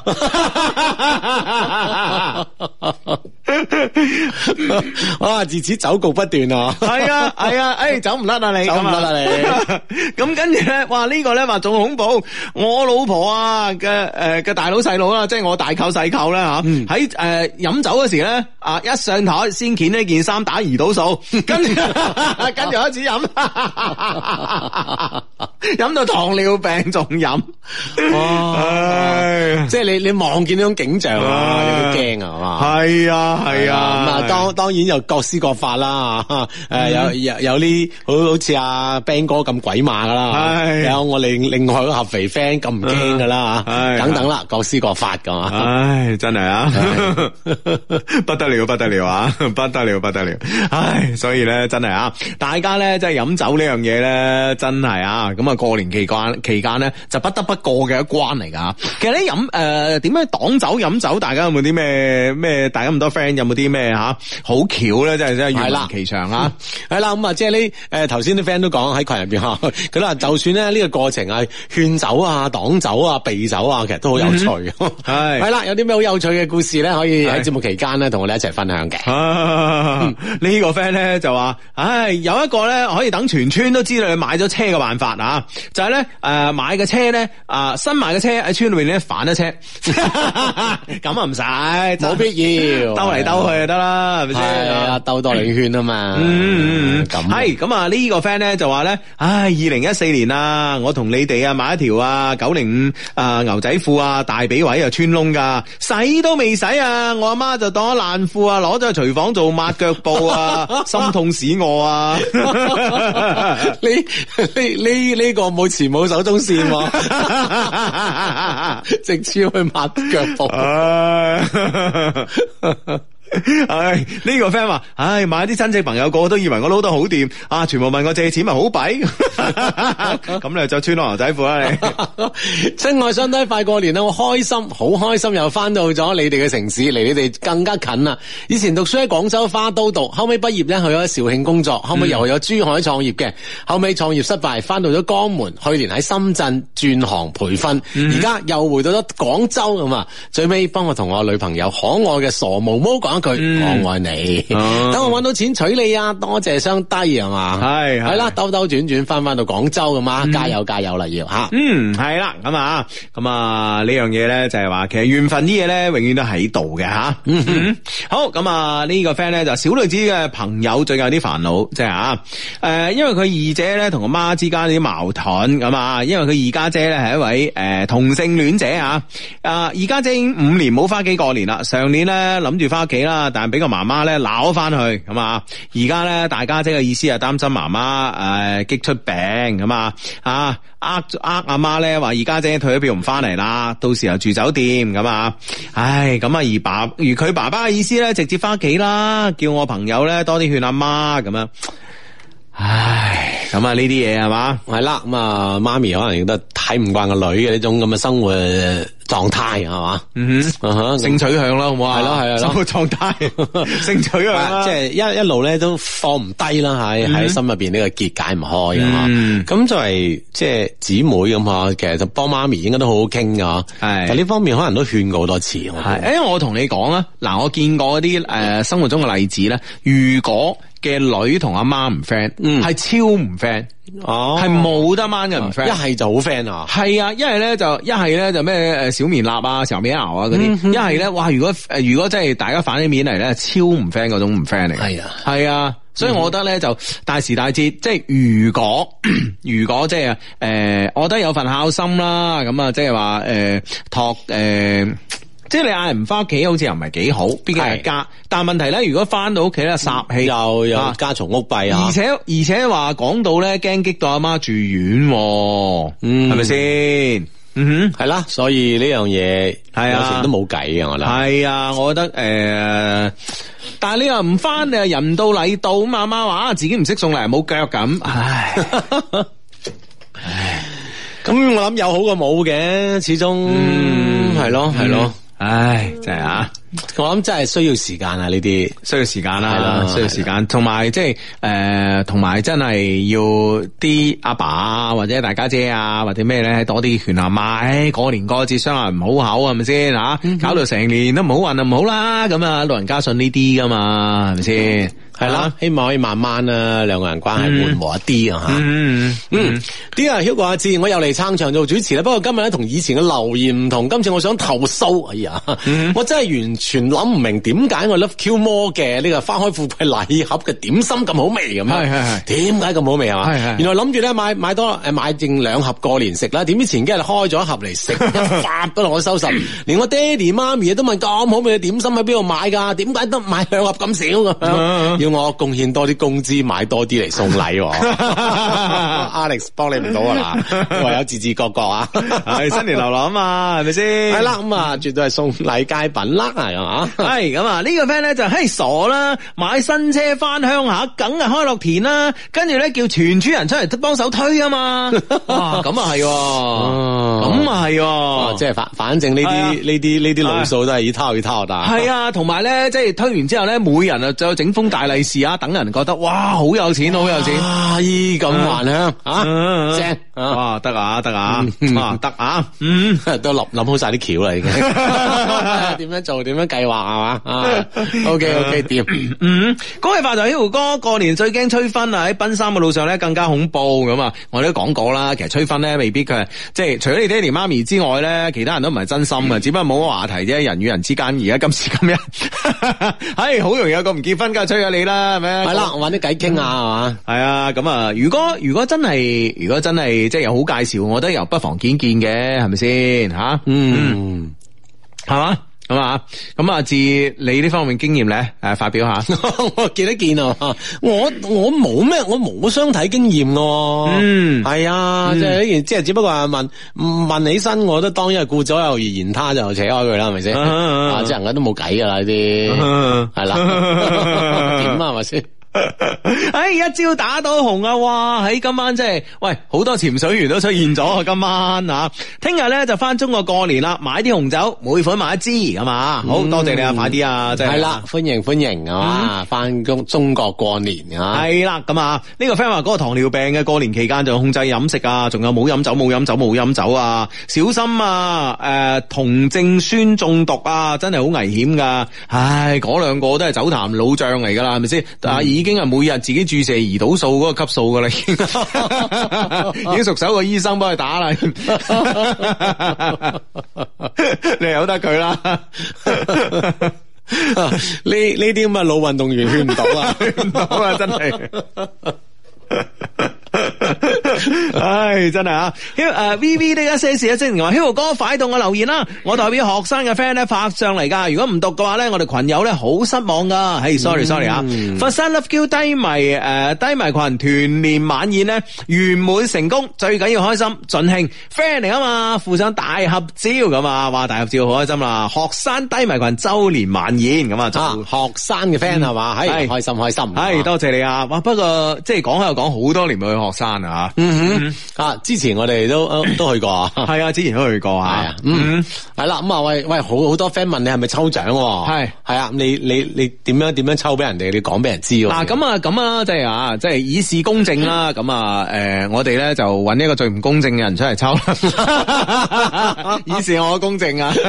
哇！自此酒局不斷啊！ 係啊，走唔甩啊你， 走唔甩啊你。咁跟住咧，哇！呢個咧話仲恐怖，我老婆啊嘅大佬細佬啦，即係我大舅細舅啦吓，喺飲酒嗰時咧一上台先掀呢件衫打胰島素，跟住開始飲，飲到糖尿病仲飲。 即係你望見呢種景象啊，有啲驚啊，係嘛？ 係啊，咁啊，當然又各施各法啦，有啲好似阿 Ben 哥咁鬼馬噶啦，有我哋另外一個合肥 friend 咁唔驚噶啦，等等啦，各施各法噶嘛。 唉，真係啊，不得了啊，不得了，唉，所以咧真係啊，大家咧真係飲酒呢樣嘢咧，真係啊，咁啊過年期間咧就不得不過嘅一關嚟噶。其實咧點樣擋酒飲酒，大家有冇啲咩？大家咁多 friend 有冇啲咩好巧咧？真係願聞其詳啊！ 係啦，咁啊，即係呢頭先啲 friend 都講喺群入邊吓，佢話就算咧呢個過程係勸酒啊、擋酒啊、避酒啊，其實都好有趣。係啦，有啲咩好有趣嘅故事咧，可以喺節目期間咧同我哋一齊分享嘅。 呢個 friend 咧就話，有一個咧可以等全村都知道你買咗車嘅辦法啊，就係咧買嘅車咧新買嘅車喺村裏邊咧反一車，咁啊唔使， 冇必要兜嚟兜去就得啦，係咪先？ 係啊，兜多兩圈啊嘛。咁係咁啊！呢個 friend 咧就話咧，唉，2014年啊，我同你哋啊買一條啊905牛仔褲啊，大髀位啊穿窿噶，洗都未洗啊，我阿媽就當咗爛褲啊，攞咗去廚房做抹腳布啊，心痛死我啊！ 呢個冇前冇手中線喎，直接去抹腳布。 唉，呢個 friend 話，唉，買啲親戚朋友個個都以為我撈得好掂啊，全部問我借錢咪好弊，咁你就穿牛仔褲啦你。 親愛相低，快過年啦，我開心，好開心又翻到咗你哋嘅城市，離你哋更加近啦。以前讀書喺廣州花都讀，後尾畢業咧去咗肇慶工作，後尾又去咗珠海創業嘅，後尾創業失敗，翻到咗江門，去年喺深圳轉行培訓，而家又回到咗廣州咁啊，最尾幫我同我女朋友可愛嘅傻毛毛講句我愛你，等我搵到錢娶你啊！多謝雙低係嘛，係啦，兜兜轉轉翻到廣州咁嘛，加油加油啦要吓， 係啦，咁啊呢樣嘢咧就係話，其實緣分啲嘢咧永遠都喺度嘅吓，好咁啊呢個 friend 咧就小女子嘅朋友最近有啲煩惱，即係因為佢二姐咧同個媽之間有啲矛盾咁啊，因為佢二家姐咧係一位同性戀者啊，二家姐已經5年冇翻屋企過年啦，上年咧諗住翻屋企啦，但係俾個媽媽咧鬧翻去咁啊！而家咧大家姐嘅意思係擔心媽媽激出病咁啊！阿媽咧話二家姐退咗票唔翻嚟啦，到時候住酒店咁啊！唉，咁啊而佢爸爸嘅意思咧直接翻屋企啦，叫我朋友咧多啲勸阿媽咁樣。唉，咁啊呢啲嘢係嘛， 係啦，咁啊媽咪可能覺得睇唔慣個女嘅呢種咁嘅生活狀態係嘛， 性取向啦，好唔好啊？ 係咯係啊， 生活狀態，性取向啦， 即係一路咧都放唔低啦，喺心入邊呢個結解唔開啊嘛。咁作為即係姊妹咁啊，其實就幫媽咪應該都好好傾噶，係。但呢方面可能都勸過好多次， 係。因為我同你講啊，嗱，我見過啲生活中嘅例子咧，如果嘅女同阿媽唔 friend， 係超唔 friend， 係冇得掹嘅唔 friend， 一係就好 friend 啊， 係啊，一係咧就咩小棉衲啊、小棉襖啊嗰啲，一係咧哇，如果真係大家反起面嚟咧，超唔 friend 嗰種唔 friend 嚟，係啊，所以我覺得咧就大時大節，即係如果即係我覺得有份孝心啦，咁啊即係話即係你嗌人唔翻屋企，好似又唔係幾好，畢竟係家。但係問題咧，如果翻到屋企咧，煞氣又有家嘈屋閉啊， 而且話講到咧，驚激到阿媽住院，係咪先？ 係啦，所以呢樣嘢係有時都冇計嘅，我諗係啊，我覺得但係你又唔翻，你又人到禮到，咁阿媽話自己唔識送禮冇腳咁，唉。 咁我諗有好過冇嘅，始終係咯。 唉，真係啊！ 我諗真係需要時間啊，呢啲需要時間啦，需要時間，同埋即係同埋真係要啲阿爸啊，或者大家姐啊，或者咩咧，多啲勸阿媽，過年過節相嗌唔好口係咪先吓？搞到成年都唔好運就唔好啦，咁啊老人家信呢啲噶嘛，係咪先？ 係啦，希望可以慢慢啊，兩個人關係緩和一啲啊吓。啲啊 Hugo 阿志，我又嚟撐場做主持啦。不過今日咧同以前嘅留言唔同，今次我想投訴。哎呀，我真係完全諗唔明點解我 Love Q More 嘅呢個花開富貴禮盒嘅點心咁好味咁樣。係點解咁好味啊？係原來諗住咧買剩2盒過年食啦，點知前幾日開咗一盒嚟食，一發都落我收拾。連我爹哋媽咪都問咁好味嘅點心喺邊度買噶？點解得買2盒咁少咁樣？我貢獻多啲工資，買多啲嚟送禮。Alex 幫你唔到啊嗱，唯有自自覺覺啊。 係新年流流啊嘛，係咪先？ 係啦，咁啊，絕對係送禮佳品啦，係嘛？ 係咁啊，呢個 friend 咧就傻啦，買新車翻鄉下，梗係開樂田啦，跟住咧叫全村人出嚟幫手推啊嘛。哇，咁啊係，咁啊係， 即係反正呢啲路數都係一套一套的。 係啊，同埋咧，即係推完之後咧，每人啊就整封大禮利是啊，等人覺得哇好有錢，好有錢， 衣咁還鄉正哇得啊得啊得啊， 都諗好晒啲橋啦已經，點樣做點樣計劃係嘛？OK 掂， 恭喜發財 Hugo 哥，過年最驚催婚啊！喺奔三嘅路上咧更加恐怖咁啊！我哋都講過啦，其實催婚咧未必佢係即係除咗你爹哋媽咪之外咧，其他人都唔係真心嘅，只不過冇乜話題啫。人與人之間而家今時今日，係好容易有個唔結婚，梗係催咗你啦，係咪？ 係啦，揾啲偈傾下係嘛？ 係啊，咁啊，如果真係即係有好介紹，我覺得又不妨見嘅，係咪先吓？係嘛？咁啊，自你呢方面經驗咧，發表下。 我見得見啊，我冇咩，我冇相睇經驗喎。係啊，即係呢件，即係只不過係問起身，我覺得當然係顧左右而言他，就扯開佢啦，係咪先？即係人家都冇計噶啦，呢啲係啦，點啊，係咪先？ 一朝打到紅啊！哇，喺今晚即係喂，好多潛水員都出現咗啊！今晚啊，聽日咧就翻中國過年啦，買啲紅酒，每款買一支咁啊！好多謝你啊，快啲啊！即係啦，歡迎係嘛，翻中國過年啊！ 係啦，咁啊，呢個 friend 話嗰個糖尿病嘅過年期間就控制飲食啊，仲有冇飲酒啊，小心啊！酮症酸中毒啊，真係好危險噶！唉，嗰兩個都係酒壇老將嚟噶啦，係咪先？已經係每日自己注射胰島素嗰個級數噶啦，已經熟手個醫生幫佢打啦。你由得佢啦。呢啲咁嘅老運動員勸唔到啊， 勸唔到啊，真係。唉，真係啊！VV 呢一些事一些情話 Hugo 哥快到我留言啦，我代表學生嘅 friend 咧發上嚟噶，如果唔讀嘅話咧，我哋群友咧好失望噶。係 sorry 啊！佛山 Love Q 低迷群團年晚宴咧圓滿成功，最緊要開心盡興 friend 嚟啊嘛，附上大合照咁啊，哇大合照好開心啦！學生低迷群周年晚宴咁啊， 學生嘅 friend 係嘛，係開心， 係多謝你啊！哇，不過即係講開又講，好多年冇去學生啊。 之前我哋都去過啊， 係啊，之前都去過啊， 係啦，咁啊，喂，好多 friend 問你係咪抽獎？係啊，你點樣抽俾人哋？你講俾人知喎。 嗱，咁啊，即係以示公正啦。咁啊，我哋咧就揾一個最唔公正嘅人出嚟抽，以示我公正啊。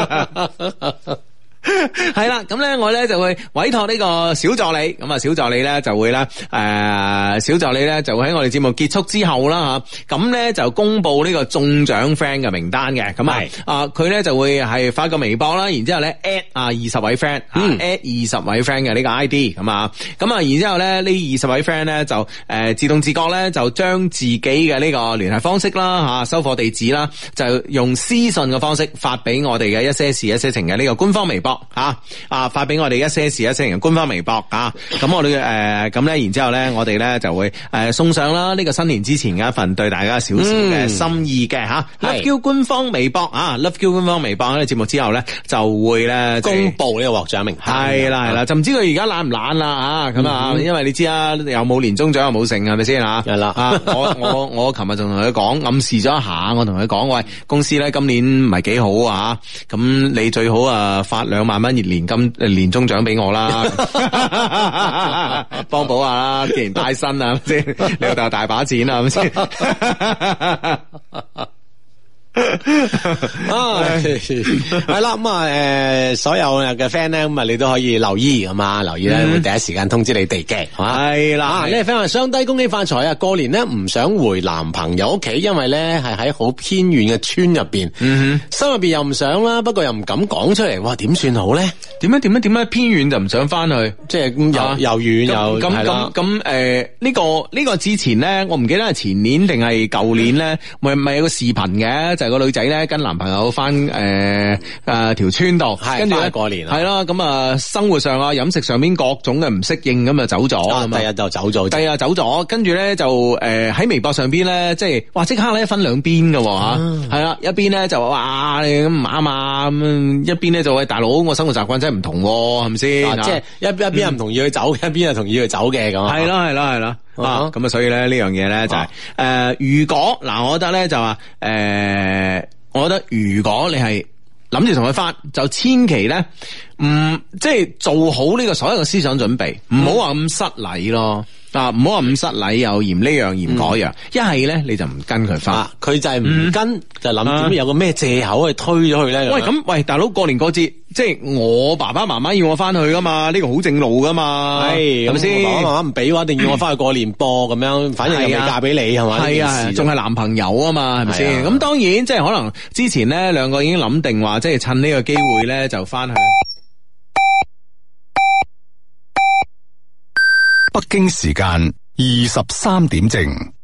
係啦，咁咧我咧就會委託呢個小助理，咁啊小助理咧就會咧就會喺我哋節目結束之後啦吓，咁咧就公布呢個中獎 friend 嘅名單嘅，咁佢咧就會係發個微博啦，然之後咧 at 20位 friend，at 20位 friend 嘅呢個 ID，咁啊，然之後咧呢20位 friend 咧就自動自覺咧就將自己嘅呢個聯繫方式啦吓，收貨地址啦，就用私信嘅方式發俾我哋嘅一些事一些情嘅呢個官方微博。發俾我哋一些事一些情官方微博啊，咁我哋咁咧，然之後咧，我哋咧就會送上啦呢個新年之前嘅一份對大家少少嘅心意嘅吓，Love Q 官方微博啊，Love Q 官方微博喺節目之後咧就會咧公布呢個獲獎名單， 係啦，就唔知佢而家懶唔懶啦吓，咁啊，因為你知啊，又冇年終獎又冇剩，係咪先吓？係啦，我琴日仲同佢講，暗示咗一下，我同佢講，喂，公司咧今年唔係幾好啊，咁你最好發2萬蚊年終獎俾我啦，幫補下啦，既然帶薪啊，先你老豆大把錢啊，係咪先？ 係啦，咁所有嘅 friend 咧，咁你都可以留意咁啊，留意咧會第一時間通知你哋嘅， 係啦。 呢個 friend 話雙低恭喜發財啊！過年咧唔想回男朋友屋企，因為咧係喺好偏遠嘅村入邊，心入邊又唔想啦，不過又唔敢講出嚟，哇，點算好咧？ 點解偏遠就唔想翻去？ 即係又遠又咁呢個之前咧，我唔記得係前年定係舊年咧，咪有個視頻嘅，就係個女仔咧跟男朋友翻條村度，跟住咧過年係啦，咁生活上啊飲食上面各種嘅唔適應，咁就走咗， 第日就走咗， 跟住咧就喺微博上邊咧，即係哇即刻咧分兩邊嘅吓，係啦，一邊咧就話你咁唔啱啊，咁一邊咧就喂大佬，我生活習慣真係唔同，係咪先？ 即係一邊係唔同意佢走，一邊係同意佢走嘅咁。 係啦。咁啊，所以咧呢樣嘢咧就係如果嗱，我覺得咧就話我覺得如果你係諗住同佢翻，就千祈咧即係做好呢個所有嘅思想準備，唔好話咁失禮咯。啊，唔好話咁失禮，又嫌呢樣嫌嗰樣，一係咧你就唔跟佢翻， 佢就係唔跟，就諗點有個咩借口去推咗佢咧？ 喂，大佬過年過節，即係我爸爸媽媽要我翻去噶嘛，呢個好正路噶嘛，係咪先？ 爸爸媽媽唔俾嘅話，一定要我翻去過年噃，咁樣，反正又未嫁俾你係嘛？ 係啊，仲係男朋友啊嘛，係咪先？咁當然即係可能之前咧兩個已經諗定話，即係趁呢個機會咧就翻去。 北京時間23點正。